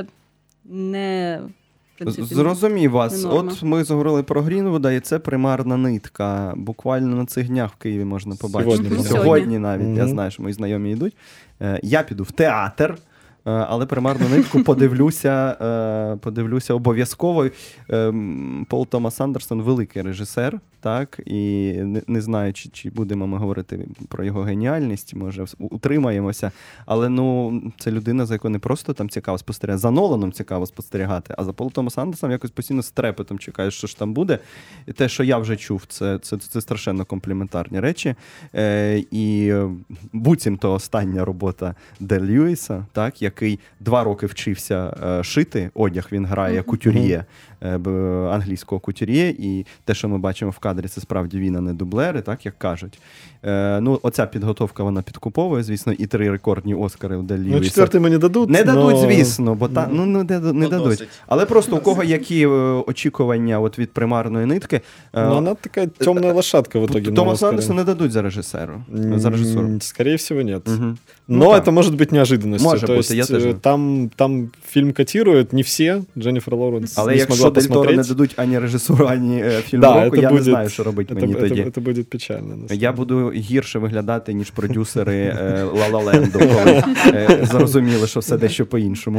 не... в принципі, Зрозумів вас. не норма. От ми заговорили про Грінвуда, і це примарна нитка. Буквально на цих днях в Києві можна побачити. Сьогодні, по-моєму. Сьогодні Сьогодні. навіть, я Мгм. знаю, що мої знайомі йдуть. Е, Я піду в театр. е, Але примарну нитку подивлюся, е, подивлюся обов'язково. Ем, Пол Томас Андерсон великий режисер, так, і не, не знаю, чи, чи будемо ми говорити про його геніальність, може вс- утримаємося, але ну, це людина, за якою не просто там цікаво спостерігати, за Ноланом цікаво спостерігати, а за Полом Томас Андерсоном якось постійно з трепетом чекаєш, що ж там буде. І те, що я вже чув, це, це, це страшенно компліментарні речі. Е, і е, буцімто остання робота Де Льюіса, так, який два роки вчився е, шити одяг, він грає кутюр'є, е, б- англійського кутюр'є, і те, що ми бачимо в кадрі, це справді він, а не дублери, так, як кажуть. Е, ну, оця підготовка, вона підкуповує, звісно, і три рекордні Оскари у Де Ну, Льюіса. четвертый ему не дадут. Не дадуть, но- звісно, бо та, ну, не, не, не Ну, дадуть. досить. Але просто у кого які е, очікування от від примарної нитки, е, Но она такая темная лошадка в итоге. на Томасу Оскаре. Андерсону не дадуть за режисеру, за режисуру. М, Скорее всего, нет. Мгм. Но Ну, так. это может быть неожиданностью. Может То быть, есть, я тоже. э, там, там фильм котируют не все. Дженнифер Лоуренс Але не якщо смогла Дель Торо не посмотреть. дадуть ані режисуру, ані е, фільм Да, року, это я будет- не знаю, що робити Это, мені это- тоді. это будет печально. на самом Я деле. буду гірше виглядати, ніж продюсери е, «Ла Ла Ленду», коли е, зрозуміли, що все дещо по-іншому.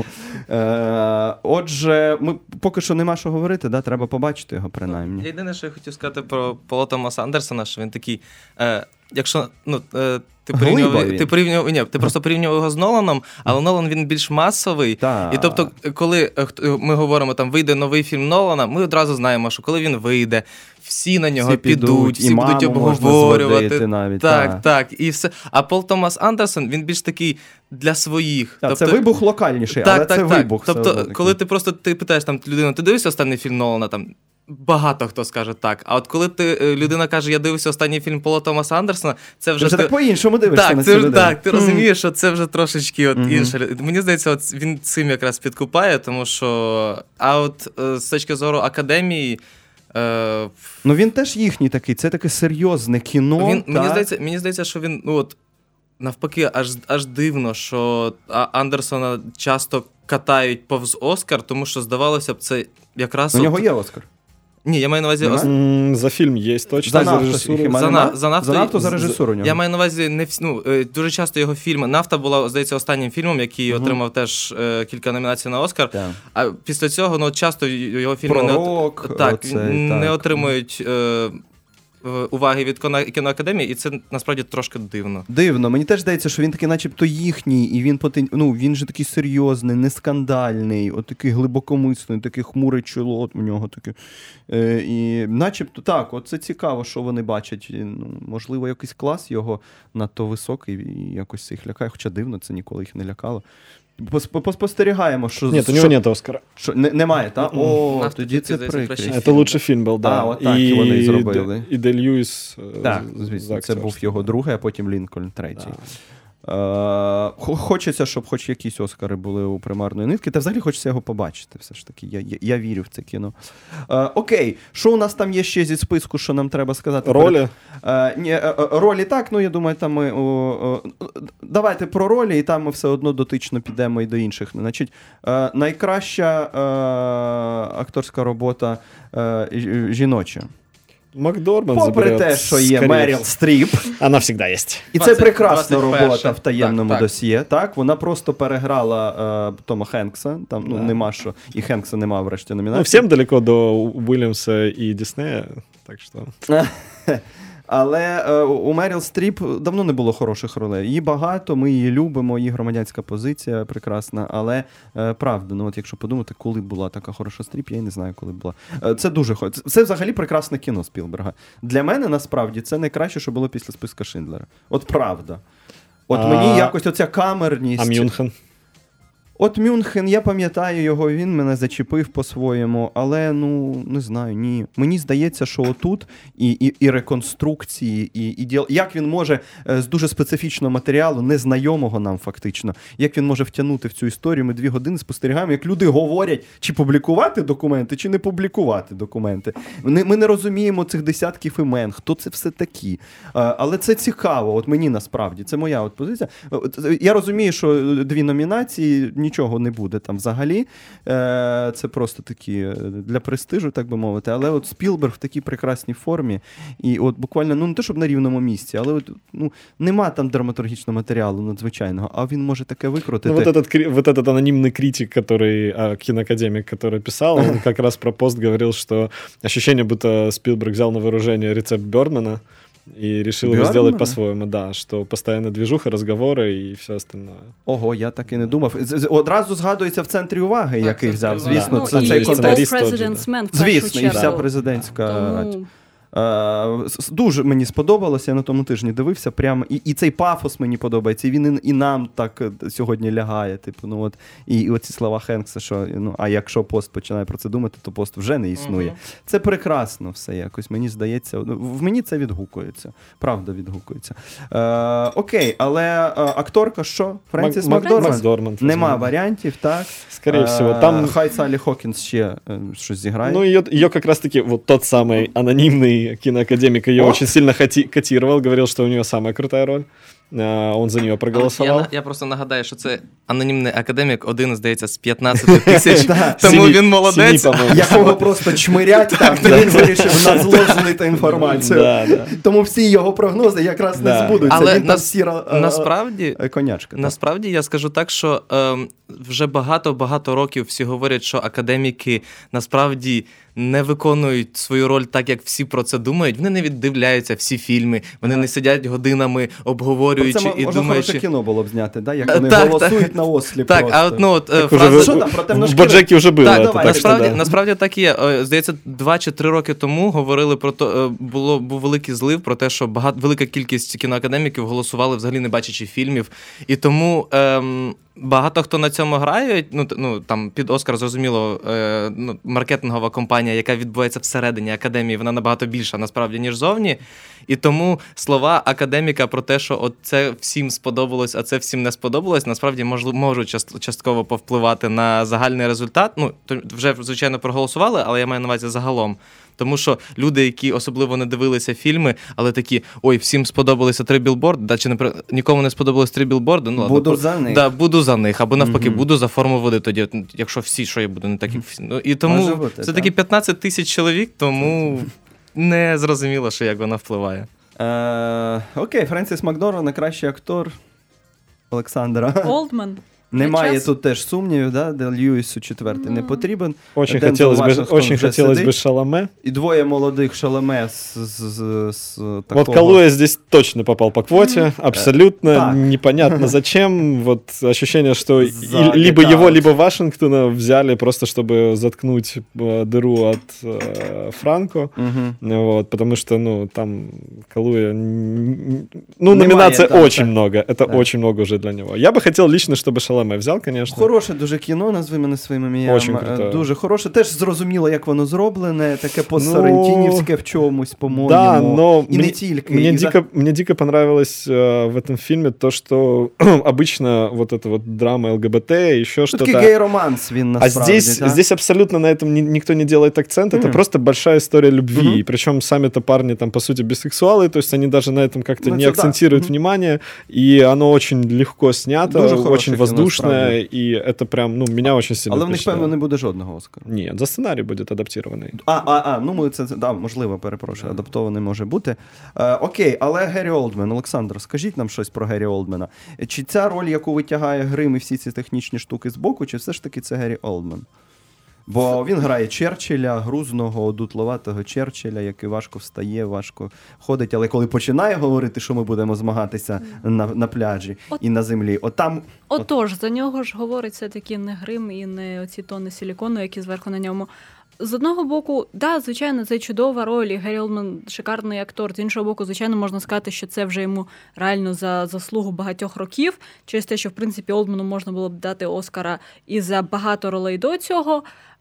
Е, отже, ми поки що нема що говорити, да? Треба побачити його принаймні. Єдине, що я хотів сказати про Пола Томаса Андерсона, що він такий, е, якщо ну, е, ти порівнював, Глибовий. ти порівнював, ні, ти просто порівнював його з Ноланом, але Нолан він більш масовий. Так. І тобто, коли е, хто- ми говоримо, там вийде новий фільм Нолана, ми одразу знаємо, що коли він вийде, всі на нього Всі підуть, підуть, і всі будуть маму можна обговорювати. зводити навіть, так, так. так, і все. А Пол Томас Андерсон, він більш такий для своїх. Так, це вибух локальніший, але це вибух. все Тобто, одно такий. коли ти просто ти питаєш там людину, ти дивився останній фільм Нолана, там багато хто скаже так. А от коли ти е, людина каже, я дивився останній фільм Пола Томаса Андерсона, це Ти вже вже ти- так по-іншому дивишся так, на це цю вже людину. так. Ти розумієш, що це вже трошечки от Мгм. інше. Мені здається, от він цим якраз підкупає, тому що а от е, з точки зору академії. Е, Ну він теж їхній такий, це таке серйозне кіно. він, мені, та? здається, мені здається, що він, ну от, навпаки, аж, аж дивно, що А- Андерсона часто катають повз Оскар, тому що, здавалося б, це якраз... У от- нього є Оскар. Ні, я маю на увазі... Нема? ос- М, За фильм есть точно, За за, нафту режиссуру. хіба За нема? на- за нафту- за нафту, за з- режисуру у нього. Я маю на увазі, не всі, ну, е, дуже часто його фільми. Нафта була, здається, останнім фільмом, який Мгм. отримав теж е, кілька номінацій на Оскар. Так. А після цього, ну, часто його фільми не, Пророк, от... так, оцей, не так. отримують е, в- уваги від кіно- кіноакадемії, і це насправді трошки дивно. Дивно, мені теж здається, що він такий, начебто, їхній, і він потен... ну, він же такий серйозний, не скандальний, от такий глибокомислений, такий хмурий чоло от у нього таке. Е, і начебто так, от це цікаво, що вони бачать. І, ну, можливо, якийсь клас його надто високий і якось це їх лякає, хоча дивно, це ніколи їх не лякало. Пос- Поспостерігаємо, що... Нет, у що... него нет Оскара. Що, не, немає, так? Мгм. О, Нафта, тоді ти, це здається, прикрість. краще. Это лучший фильм был, да. А, вот так и вони і зробили. Д- і Дель Льюіс. е, Так, з- звісно, за це був акторство. його другий, а потім Лінкольн третій. Да. Е, хо- Хочеться, щоб хоч якісь Оскари були у примарної нитки, та взагалі хочеться його побачити. Все ж таки, я, я, я вірю в це кіно. Е, окей, що у нас там є ще зі списку, що нам треба сказати? Ролі? Е, ні, е, е, ролі так, ну я думаю, там ми. О, о, давайте про ролі, і там ми все одно дотично підемо і до інших. Значить, е, найкраща е, акторська робота е, ж- жіноча. Макдорманд Попри заберет, те, що є скорее. Меріл Стріп. Она всегда есть. І це двадцять- прекрасна двадцять перша. робота в таємному Так, так. досьє. Так, вона просто переграла е, Тома Хенкса. Там ну Да. нема що, і Хенкса нема врешті Ну, номінації. всем далеко до Уильямса и Диснея, так что... Але е, у Меріл Стріп давно не було хороших ролей. Її багато, ми її любимо, її громадянська позиція прекрасна. Але е, правда, ну от якщо подумати, коли була така хороша Стріп, я й не знаю, коли була. Е, це дуже хо- це, це взагалі прекрасне кіно Спілберга. Для мене насправді це найкраще, що було після списка Шиндлера. От правда. От А- мені якось оця камерність. А Мюнхен? От Мюнхен, я пам'ятаю його, він мене зачепив по-своєму, але, ну, не знаю, ні. Мені здається, що отут і, і, і реконструкції, і, і діал... як він може е, з дуже специфічного матеріалу, незнайомого нам фактично, як він може втягнути в цю історію, ми дві години спостерігаємо, як люди говорять, чи публікувати документи, чи не публікувати документи. Ми, ми не розуміємо цих десятків імен, хто це все такі. Е, але це цікаво, от мені насправді, це моя от позиція. От, я розумію, що дві номінації, нічого не буде там взагалі. Е, це просто такі е, для престижу, так би мовити. Але от Спілберг в такій прекрасній формі. І от буквально, ну не те, щоб на рівному місці, але от, ну, нема там драматургічного матеріалу надзвичайного, а він може таке викрутити. Ну, вот этот, кри- вот этот анонимный критик, который, а, киноакадемик, который писал, он как раз про пост говорил, что ощущение, будто Спилберг взял на вооружение рецепт Бёрдмана и решил его Бёрдмана? сделать по-своему, да, что постоянно движуха, разговоры и все остальное. Ого, я так і не думав. З- з- Одразу згадується в центрі уваги, Так, який в взяв. центрі Звісно, уваги. це ну, цей і контекст. контекст. All Сценарист President's Men, в першу Звісно, і чергу. вся президентська. Тому... Е, с- Дуже мені сподобалося, я на тому тижні дивився прямо, і, і цей пафос мені подобається, і він і, і нам так е, сьогодні лягає. Типу, ну от, і, і оці слова Хенкса, що ну, а якщо пост починає про це думати, то пост вже не існує. Мгм. Це прекрасно все якось, мені здається. ну, В мені це відгукується. Правда відгукується. Е, окей, але е, акторка що? Френсіс Мак- Мак- Макдорманд? Макдорманд, Нема возможно. варіантів, так? Скорее Е, всего, там... Хай Саллі Хокінс ще е, щось зіграє. Ну, ее, ее как раз-таки, вот тот самый анонимный киноакадемик ее О! очень сильно хоти- котировал, говорил, что у нее самая крутая роль. А, Он за нее проголосовал. Я, я просто нагадаю, що це анонімний академік, один, здається, з п'ятнадцяти тисяч, тому Семи- він молодець. семи, по-моему. Якого просто чмирять там, і він вирішив на зло злити інформацію. Да, да. Тому всі його прогнози якраз не Да. збудуться. Але Він там нас- сіра е, Насправді, е, конячка. так. Насправді я скажу так, що ем, вже багато-багато років всі говорять, що академіки насправді не виконують свою роль так, як всі про це думають. Вони не віддивляються всі фільми, вони не сидять годинами, Про обговорюючи це і можна думаючи. хороше кіно було б зняти, да? як Е, вони так, голосують так. на ослі Так, просто. а от ну от е, Так уже фраза, в- що там, про в темношкірих? Боджекі вже було. Так, это, давай, так що Насправді, да. насправді так і є. Е, Здається, два чи три роки тому говорили про то, е, було був великий злив про те, що багато велика кількість кіноакадеміків голосували взагалі не бачачи фільмів. І тому ем, багато хто на цьому грає. Ну, т- ну там під Оскар зрозуміло, е, ну, маркетингова компанія, яка відбувається всередині академії, вона набагато більша насправді ніж зовні. І тому слова академіка про те, що от це всім сподобалось, а це всім не сподобалось, насправді можли, можуть част- частково повпливати на загальний результат. Ну, то вже звичайно проголосували, але я маю на увазі загалом. Тому що люди, які особливо не дивилися фільми, але такі, ой, всім сподобалися три білборди, да, чи не при- нікому не сподобалось три білборди, ну, Буду ладно, за них. Да, буду за них, або навпаки, Мгм. буду за форму води тоді, якщо всі, що я буду, не так, як всі. Ну, і тому Може бути, це таки так. п'ятнадцять тисяч чоловік, тому не зрозуміло, що як вона впливає. Е, окей, Френсіс Макдорманд, найкращий актор Олександра. Олдман. Немає час. тут теж сумнівів, да? Де Льюісу четвертий не потрібен. Очень Дензел хотелось бы, Вашингтон очень вже хотелось сидить. бы Шаломе. І двоє молодих Шаломе з, з, з, з такого... Вот Калуя здесь точно попал по квоте, абсолютно Так. непонятно зачем. Вот ощущение, что и- За либо Get его, Out. либо Вашингтона взяли просто, чтобы заткнуть э, дыру от э, Франко. Мгм. Вот, потому что, ну, там Калуя... н- Ну, Немає, номинаций так, очень так. много. Это Так. очень много уже для него. Я бы хотел лично, чтобы Шаломе взял, конечно. Хороше дуже кіно, назви мене своїм ім'ям. Очень Е, круте. Дуже хороше. Теж зрозуміло, як воно зроблене, таке по-сорентінівське в чомусь, по-моєму. Да, но і мне, не тільки. мне, І за- дико, мне дико понравилось э, в этом фильме то, что обычно вот эта вот драма ЛГБТ, еще Ну, что-то... такий гей-романс він А насправді. здесь, так? здесь абсолютно на этом ни- никто не делает акцент. Это Мгм. просто большая история любви. Мгм. И причем сами-то парни там, по сути, бисексуалы, то есть они даже на этом как-то Ну, не это да. акцентируют Мгм. внимание. И оно очень легко снято, Дуже хороше очень кіно, воздушное. справді. И это прям, ну, меня очень сильно Але в них, впечатлило. певно, не буде жодного Оскара. Нет, за сценарий будет адаптированный. А, а, а, ну ми це, це- да, можливо, перепрошую, адаптований може бути. Е, окей, але Геррі Олдмен, Олександр, скажіть нам щось про Геррі Олдмена. Чи ця роль, яку витягає грим і всі ці технічні штуки з боку, чи все ж таки це Геррі Олдмен? Бо він грає Черчилля, грузного, одутловатого Черчилля, який важко встає, важко ходить, але коли починає говорити, що ми будемо змагатися на, на пляжі От- і на землі, отам Отож, за нього ж говорить все-таки не грим і не оці тони силікону, які зверху на ньому. З одного боку, да, звичайно, це чудова роль, і Геррі Олдман шикарний актор. З іншого боку, звичайно, можна сказати, що це вже йому реально за заслугу багатьох років, через те, що, в принципі, Олдману можна було б дати Оскара і за багато ролей до цього.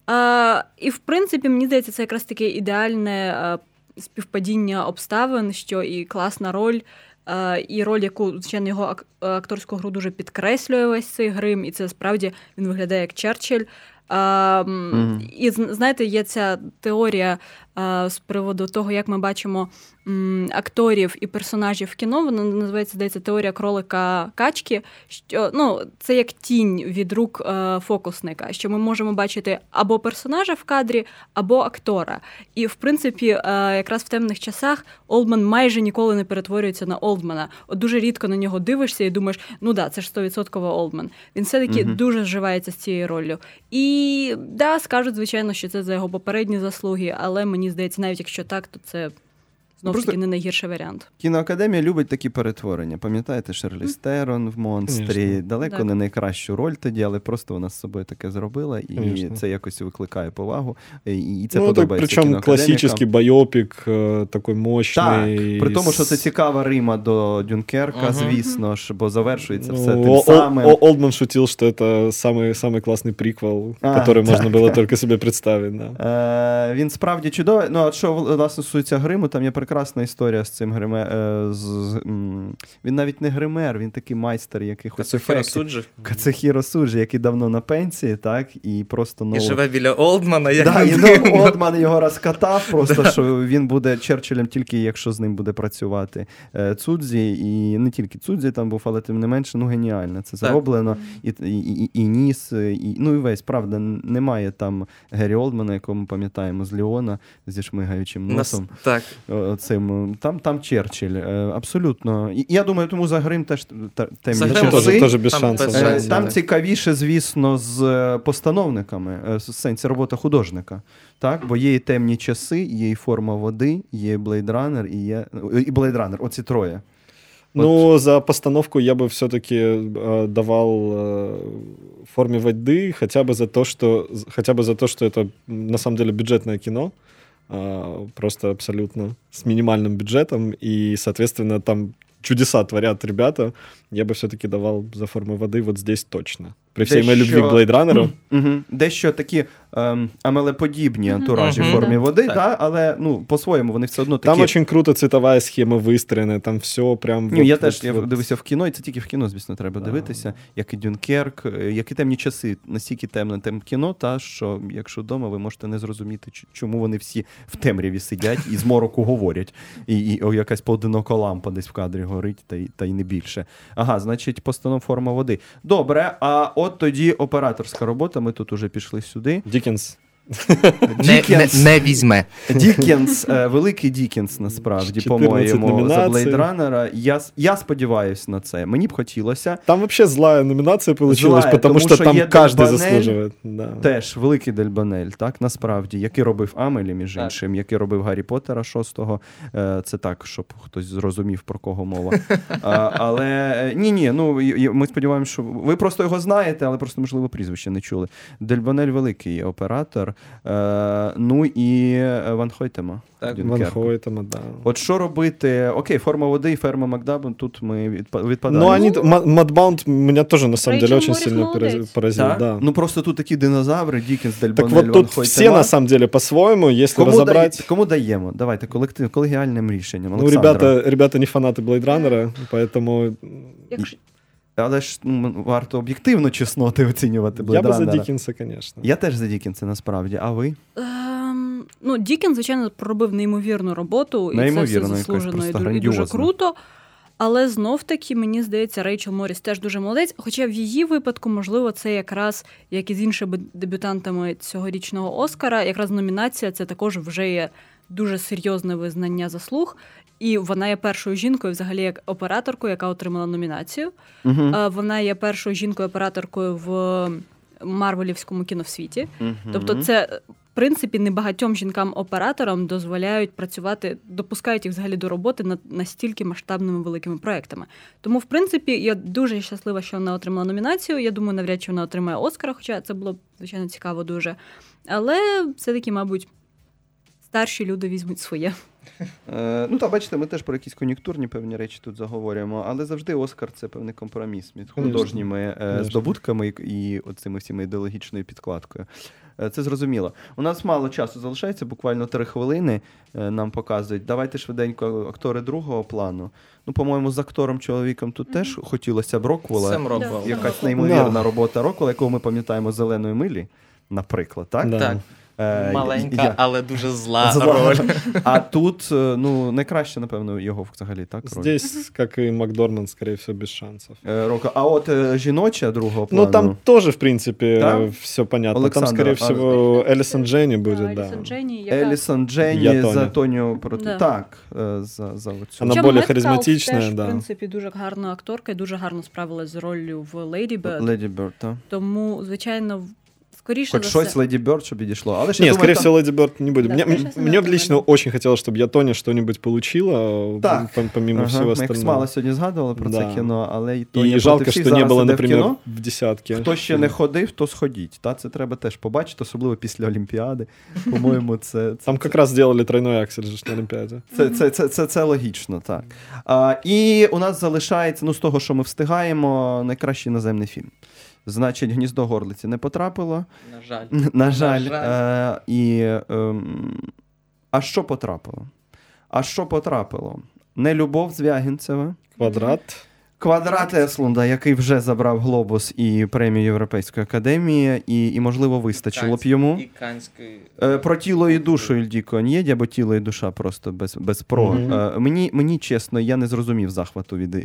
А, і, в принципі, мені здається, це якраз таке ідеальне а, співпадіння обставин, що і класна роль, а, і роль, яку, звичайно, його ак- акторську гру дуже підкреслює весь цей грим, і це справді він виглядає як Черчилль. А, м, Мгм. І зн- знаєте, є ця теорія а, з приводу того, як ми бачимо м, акторів і персонажів в кіно. Вона називається, здається, теорія кролика качки. Що ну це як тінь від рук е, фокусника, що ми можемо бачити або персонажа в кадрі, або актора. І в принципі, е, якраз в темних часах Олдман майже ніколи не перетворюється на Олдмана. От дуже рідко на нього дивишся і думаєш, ну да, це ж сто відсотків Олдман. Він все-таки Мгм. дуже зживається з цією роллю. І да, скажуть, звичайно, що це за його попередні заслуги, але мені здається, навіть якщо так, то це знов Просто- таки не найгірший варіант. Кіноакадемія любить такі перетворення. Пам'ятаєте, Шерлі Стерон в «Монстрі»? Конечно. Далеко Так. не найкращу роль тоді, але просто вона з собою таке зробила, і Конечно. це якось викликає повагу. І і це Ну, так, подобається причем кіноакадемікам. классический байопик, э, такой Так, мощный. при тому, що це с- цікава Рима до Дюнкерка, Мгм. звісно ж, бо завершується Ну, все тим О- О- самим. О- Олдман шутил, что это самый, самый классный приквел, А, который так, можно было так. только себе представить. Да. Е, він справді чудовий. Ну, а що власне стосується гриму, там є прекрасна історія з цим гриме. Е, з, з, м, він навіть не гример, він такий майстер якихось Кацухіро ефектів. Суджі. Кацухіро Суджі, який давно на пенсії, так, і просто І ну, живе біля Олдмана, як да, не і дивно. ну, Олдман його розкатав, просто що він буде Черчиллем тільки якщо з ним буде працювати е, Цудзі, і не тільки Цудзі там був, але тим не менше, ну геніально це Так. зроблено. І, і, і, і ніс, і, ну і весь, правда, немає там Геррі Олдмана, якого ми пам'ятаємо з Леона зі шмигаючим Нас- носом. Так. Оцим, там, там Черчилль, е, абсолютно. І я думаю, тому за грим теж та- темні За Там Грим часи. тоже, тоже без Там шансов. без Е, да. шансів. Там так. цікавіше, звісно, з е, постановниками, е, в сенсі робота художника. Так? Бо є і темні часи, є і форма води, є Blade Runner, і є і Blade Runner, оці троє. Ну, за постановку я бы все-таки э, давал э, в форме воды, хотя бы за то, что хотя бы за то, что это м, на самом деле бюджетное кино, э, просто абсолютно с минимальным бюджетом, и, соответственно, там чудеса творят ребята. Я бы все-таки давал за форму воды вот здесь точно. При всей моей Дещо- любви к Blade Runner. Угу. Дещо такі ем, амелеподібні антуражі Мгм. в формі води, Так. да, але ну, по-своєму вони все одно такі. Там очень круто цветовая схема выстроена, там все прям... Ні, вот- я вот- теж я вот. дивився в кіно, і це тільки в кіно, звісно, треба Да. дивитися. Як і Дюнкерк, е, як і темні часи, настільки темне тем кіно, та що якщо вдома ви можете не зрозуміти, ч- чому вони всі в темряві сидять і з мороку говорять. І, і о, якась поодинока лампа десь в кадрі горить, та й, та й не більше. Ага, значить, постанов форма води. Добре, а от тоді операторська робота, ми тут уже пішли сюди. Диккенс. Не, не, не візьме. Дікенс, е, великий Дікенс, насправді, чотирнадцять по-моєму, за номінацій. Blade Runner. Я, с- я сподіваюся на це. Мені б хотілося. Там вообще злая номинация получилась, Злая, потому тому что що там є каждый Дельбанель. заслуживает. Да. Теж великий Дельбанель, так, насправді, який робив Амелі, між Так. іншим, який робив Гаррі Поттера шостого. Е, Це так, щоб хтось зрозумів, про кого мова. А, але е, ні-ні, ну, і- і ми сподіваємося, що ви просто його знаєте, але просто, можливо, прізвище не чули. Дельбанель великий оператор. Е, Ну і е, Ван Хойтема. Так, Ван Дюнкерку. Хойтема, да. От що робити? Окей, форма води і ферма Макдабен, тут ми відпа- відпадаємо. Но они, Мадбаунд меня тоже на самом Рэйчел деле очень Моррис сильно молодец. порази- поразил. Так? Да. Ну просто тут такі динозаври, Дікенс, Так Дельбанель, вот Ван тут Хойтема. все на самом деле по-своему, если Кому, разобрать. дає- кому даємо? Давайте, колектив, колегіальним рішенням. Ну, Олександра. ребята, ребята не фанаты Blade Runner, поэтому Якщо... Але ж ну, варто об'єктивно чесноти оцінювати я бы за Блейд Диккенса, конечно. Я теж за Дікенса, насправді. А ви? Ем, ну, Дікін, звичайно, проробив неймовірну роботу, і це Неймовірно, все якось заслужено і, просто ду- і дуже грандіозно. круто. Але знов-таки, мені здається, Рейчел Морріс теж дуже молодець. Хоча в її випадку, можливо, це якраз, як і з іншими дебютантами цьогорічного Оскара, якраз номінація це також вже є дуже серйозне визнання заслуг. І вона є першою жінкою, взагалі, як операторкою, яка отримала номінацію. Угу. Е, Вона є першою жінкою-операторкою в марвелівському кіновсвіті. Тобто це, в принципі, небагатьом жінкам-операторам дозволяють працювати, допускають їх взагалі до роботи над настільки масштабними великими проектами. Тому, в принципі, я дуже щаслива, що вона отримала номінацію. Я думаю, навряд чи вона отримає Оскара, хоча це було б, звичайно, цікаво дуже. Але все-таки, мабуть, старші люди візьмуть своє. Е, ну, та бачите, ми теж про якісь кон'юнктурні певні речі тут заговорюємо, але завжди Оскар – це певний компроміс між Конечно. художніми е, Конечно. здобутками і, і оцими всіми ідеологічною підкладкою. Е, Це зрозуміло. У нас мало часу залишається, буквально три хвилини е, нам показують. Давайте швиденько актори другого плану. Ну, по-моєму, з актором-чоловіком тут теж хотілося б Роквелла. Сем Роквелл. Да. Якась неймовірна робота Роквелла, якого ми пам'ятаємо з «Зеленої милі», наприклад, так? Да. Так. Е, Маленька, я- але дуже зла, Зла. роль. А тут, е, ну, найкраще, напевно, його взагалі, так? роль? Здесь, как и Макдорманд, скорее всего, без шансов. Е, Рока. А от е, жіноча другого плану. Ну, там тоже, в принципе, Да? все понятно. Александра, Там, скорее а- всего, Элисон Дженни будет, да. Елісон Дженні, яка... Елісон Дженні Я Тоня. за Тоню проти. Да. Так, е, за, за оцю. Вона Хоча более Меткалф харизматична, теж, да. в принципі, дуже гарна акторка і дуже гарно справилась з роллю в Леді Берд. Леді Бёрд, так. Тому, звичайно, в- скоріше Хоч за щось все... Леді Бёрд, щоб підійшло. Але ж я Не, думаю, скорее там- всего, Леди Бёрд не будет. Да, мне скорее мне, всего, мне да, лично наверное. очень хотелось, чтобы я Тоня что-нибудь получила, Так. пом- помимо Ага, всего ми як остального. смало сьогодні згадували про це Да. кіно, але і Тоня И проти жалко, всіх что не зараз было, іде в например, кіно. в десятке. Хто ще не ходив, то сходіть. Та? Це треба теж побачити, особливо після Олімпіади. По-моєму, це, це, Там как раз сделали тройной аксель же ж на Олимпиаде. Це, це, це, це, це логічно, так. А, і у нас залишається, ну, з того, що ми встигаємо, найкращий іноземний фільм. Значить, «Гніздо горлиці» не потрапило. На жаль. На жаль. На жаль. Е, і, ем, а що потрапило? А що потрапило? Нелюбов Звягінцева. Квадрат. Квадрат Еслунда, який вже забрав «Глобус» і премію Європейської академії, і, і можливо, вистачило б йому. І Канський. Е, Про тіло і душу Ільдіко Нєді, або тіло і душа просто без, без про. Мгм. Е, Мені, мені, чесно, я не зрозумів захвату від е,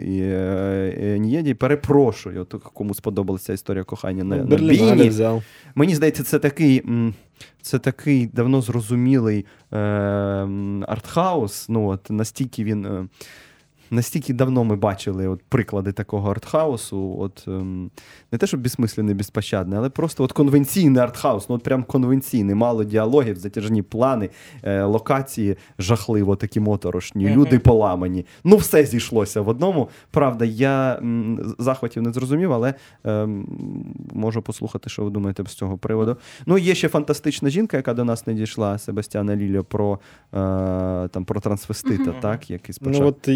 е, Нєді. Перепрошую, от кому сподобалася історія кохання на, на Берлинале бійні. взял. Мені здається, це такий, м, це такий давно зрозумілий е, м, артхаус. Ну, от, настільки він... Е, Настільки давно ми бачили от приклади такого артхаусу, от ем, не те, що безсмисленний, безпощадний, але просто от конвенційний артхаус, ну от прям конвенційний, мало діалогів, затяжні плани, е, локації жахливо такі моторошні, Мгм. люди поламані. Ну все зійшлося в одному. Правда, я м, захватів не зрозумів, але ем, можу послухати, що ви думаєте з цього приводу. Ну, є ще фантастична жінка, яка до нас не дійшла, Себастьяна Лільо, про, е, там, про трансвестита, Мгм. так, який спочатку. Ну вот ее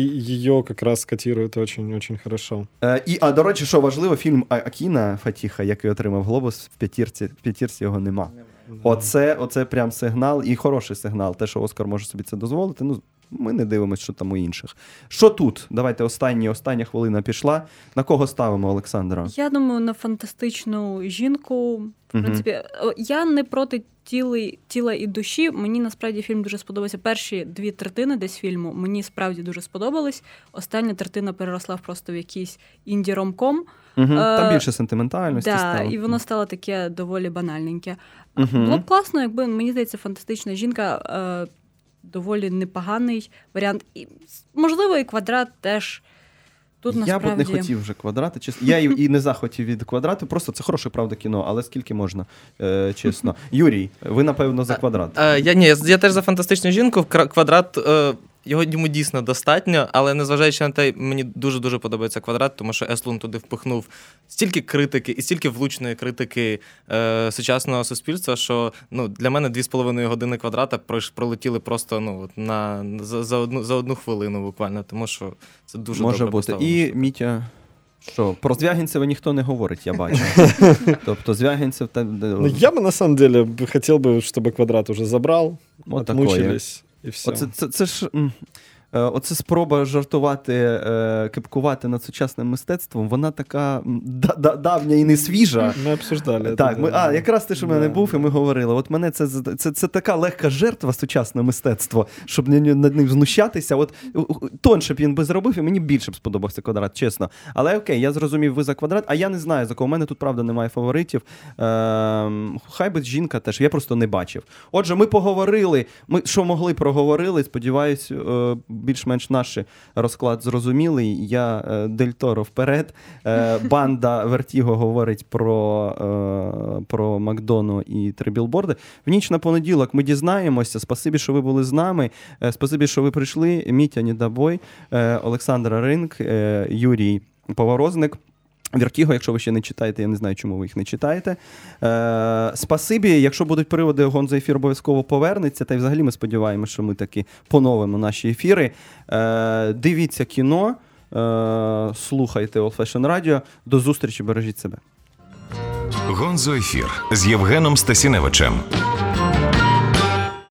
ее как раз котируют очень-очень хорошо. Е, і, а, до речі, що важливо, фільм А- Акіна Фатіха, який отримав «Глобус», в п'ятірці, в п'ятірці його нема. Оце, оце прям сигнал, і хороший сигнал. Те, що Оскар може собі це дозволити, ну, ми не дивимося, що там у інших. Що тут? Давайте останні, остання хвилина пішла. На кого ставимо, Олександра? Я думаю, на фантастичну жінку. В принципі, о, я не проти тіли, тіла і душі. Мені насправді фільм дуже сподобався. Перші дві третини десь фільму мені справді дуже сподобались. Остання третина переросла в просто в якийсь інді-ромком. Угу. Е, Там більше сентиментальності Да, стало. і воно стало таке доволі банальненьке. Мгм. Було б класно, якби, мені здається, фантастична жінка е, доволі непоганий варіант. І, можливо, і «Квадрат» теж. Тут Я б насправді... не хотів вже «Квадрати», чесно. Я і і не захотів від «Квадрату», просто це хороше, правда, кіно, але скільки можна, е, чесно. Юрій, ви, напевно, за «Квадрат». Е, я ні, я, я теж за фантастичну жінку. Кра- Квадрат. Е, Його йому дійсно достатньо, але незважаючи на те, мені дуже-дуже подобається «Квадрат», тому що Еслун туди впихнув стільки критики і стільки влучної критики е, сучасного суспільства, що ну, для мене дві з половиною години «Квадрата» пройш- пролетіли просто ну, от на, за, за, одну, за одну хвилину буквально, тому що це дуже Може добре бути. поставлено. І Мітя, що, про Звягінцева ніхто не говорить, я бачу. Тобто Звягінцев... Та, Ну, я бы, на самом деле, бы хотел бы, чтобы «Квадрат» уже забрал, Вот отмучились, и все. Оце, це, це ж... м, е, Оце спроба жартувати, е, кепкувати над сучасним мистецтвом, вона така м, да- да- давня і не свіжа. Мы обсуждали это. Так, ми, да. а, якраз те, що в мене Да. був, і ми говорили. От мене це, це, це така легка жертва сучасне мистецтво, щоб не- над ним знущатися. От у- у- тонше б він би зробив, і мені більше б сподобався «Квадрат», чесно. Але окей, я зрозумів, ви за «Квадрат», а я не знаю, за кого. У мене тут, правда, немає фаворитів. Ем, хай би жінка теж, я просто не бачив. Отже, ми поговорили, ми що могли, проговорили. Сподіваюсь, е, більш-менш наш розклад зрозумілий. Я е, Дель Торо вперед. Е, банда Вертіго говорить про, е, про Макдону і три білборди. В ніч на понеділок ми дізнаємося. Спасибі, що ви були з нами. Е, спасибі, що ви прийшли. Мітя Недобой, е, Олександра Ринк, е, Юрій Поворозник. Вертіго, якщо ви ще не читаєте, я не знаю, чому ви їх не читаєте. Е, спасибі, якщо будуть приводи, Гонзо ефір обов'язково повернеться, та й взагалі ми сподіваємося, що ми таки поновимо наші ефіри. Е, дивіться кіно, е, слухайте Old Fashion Radio. До зустрічі, бережіть себе. Гонзо ефір з Євгеном Стасіневичем.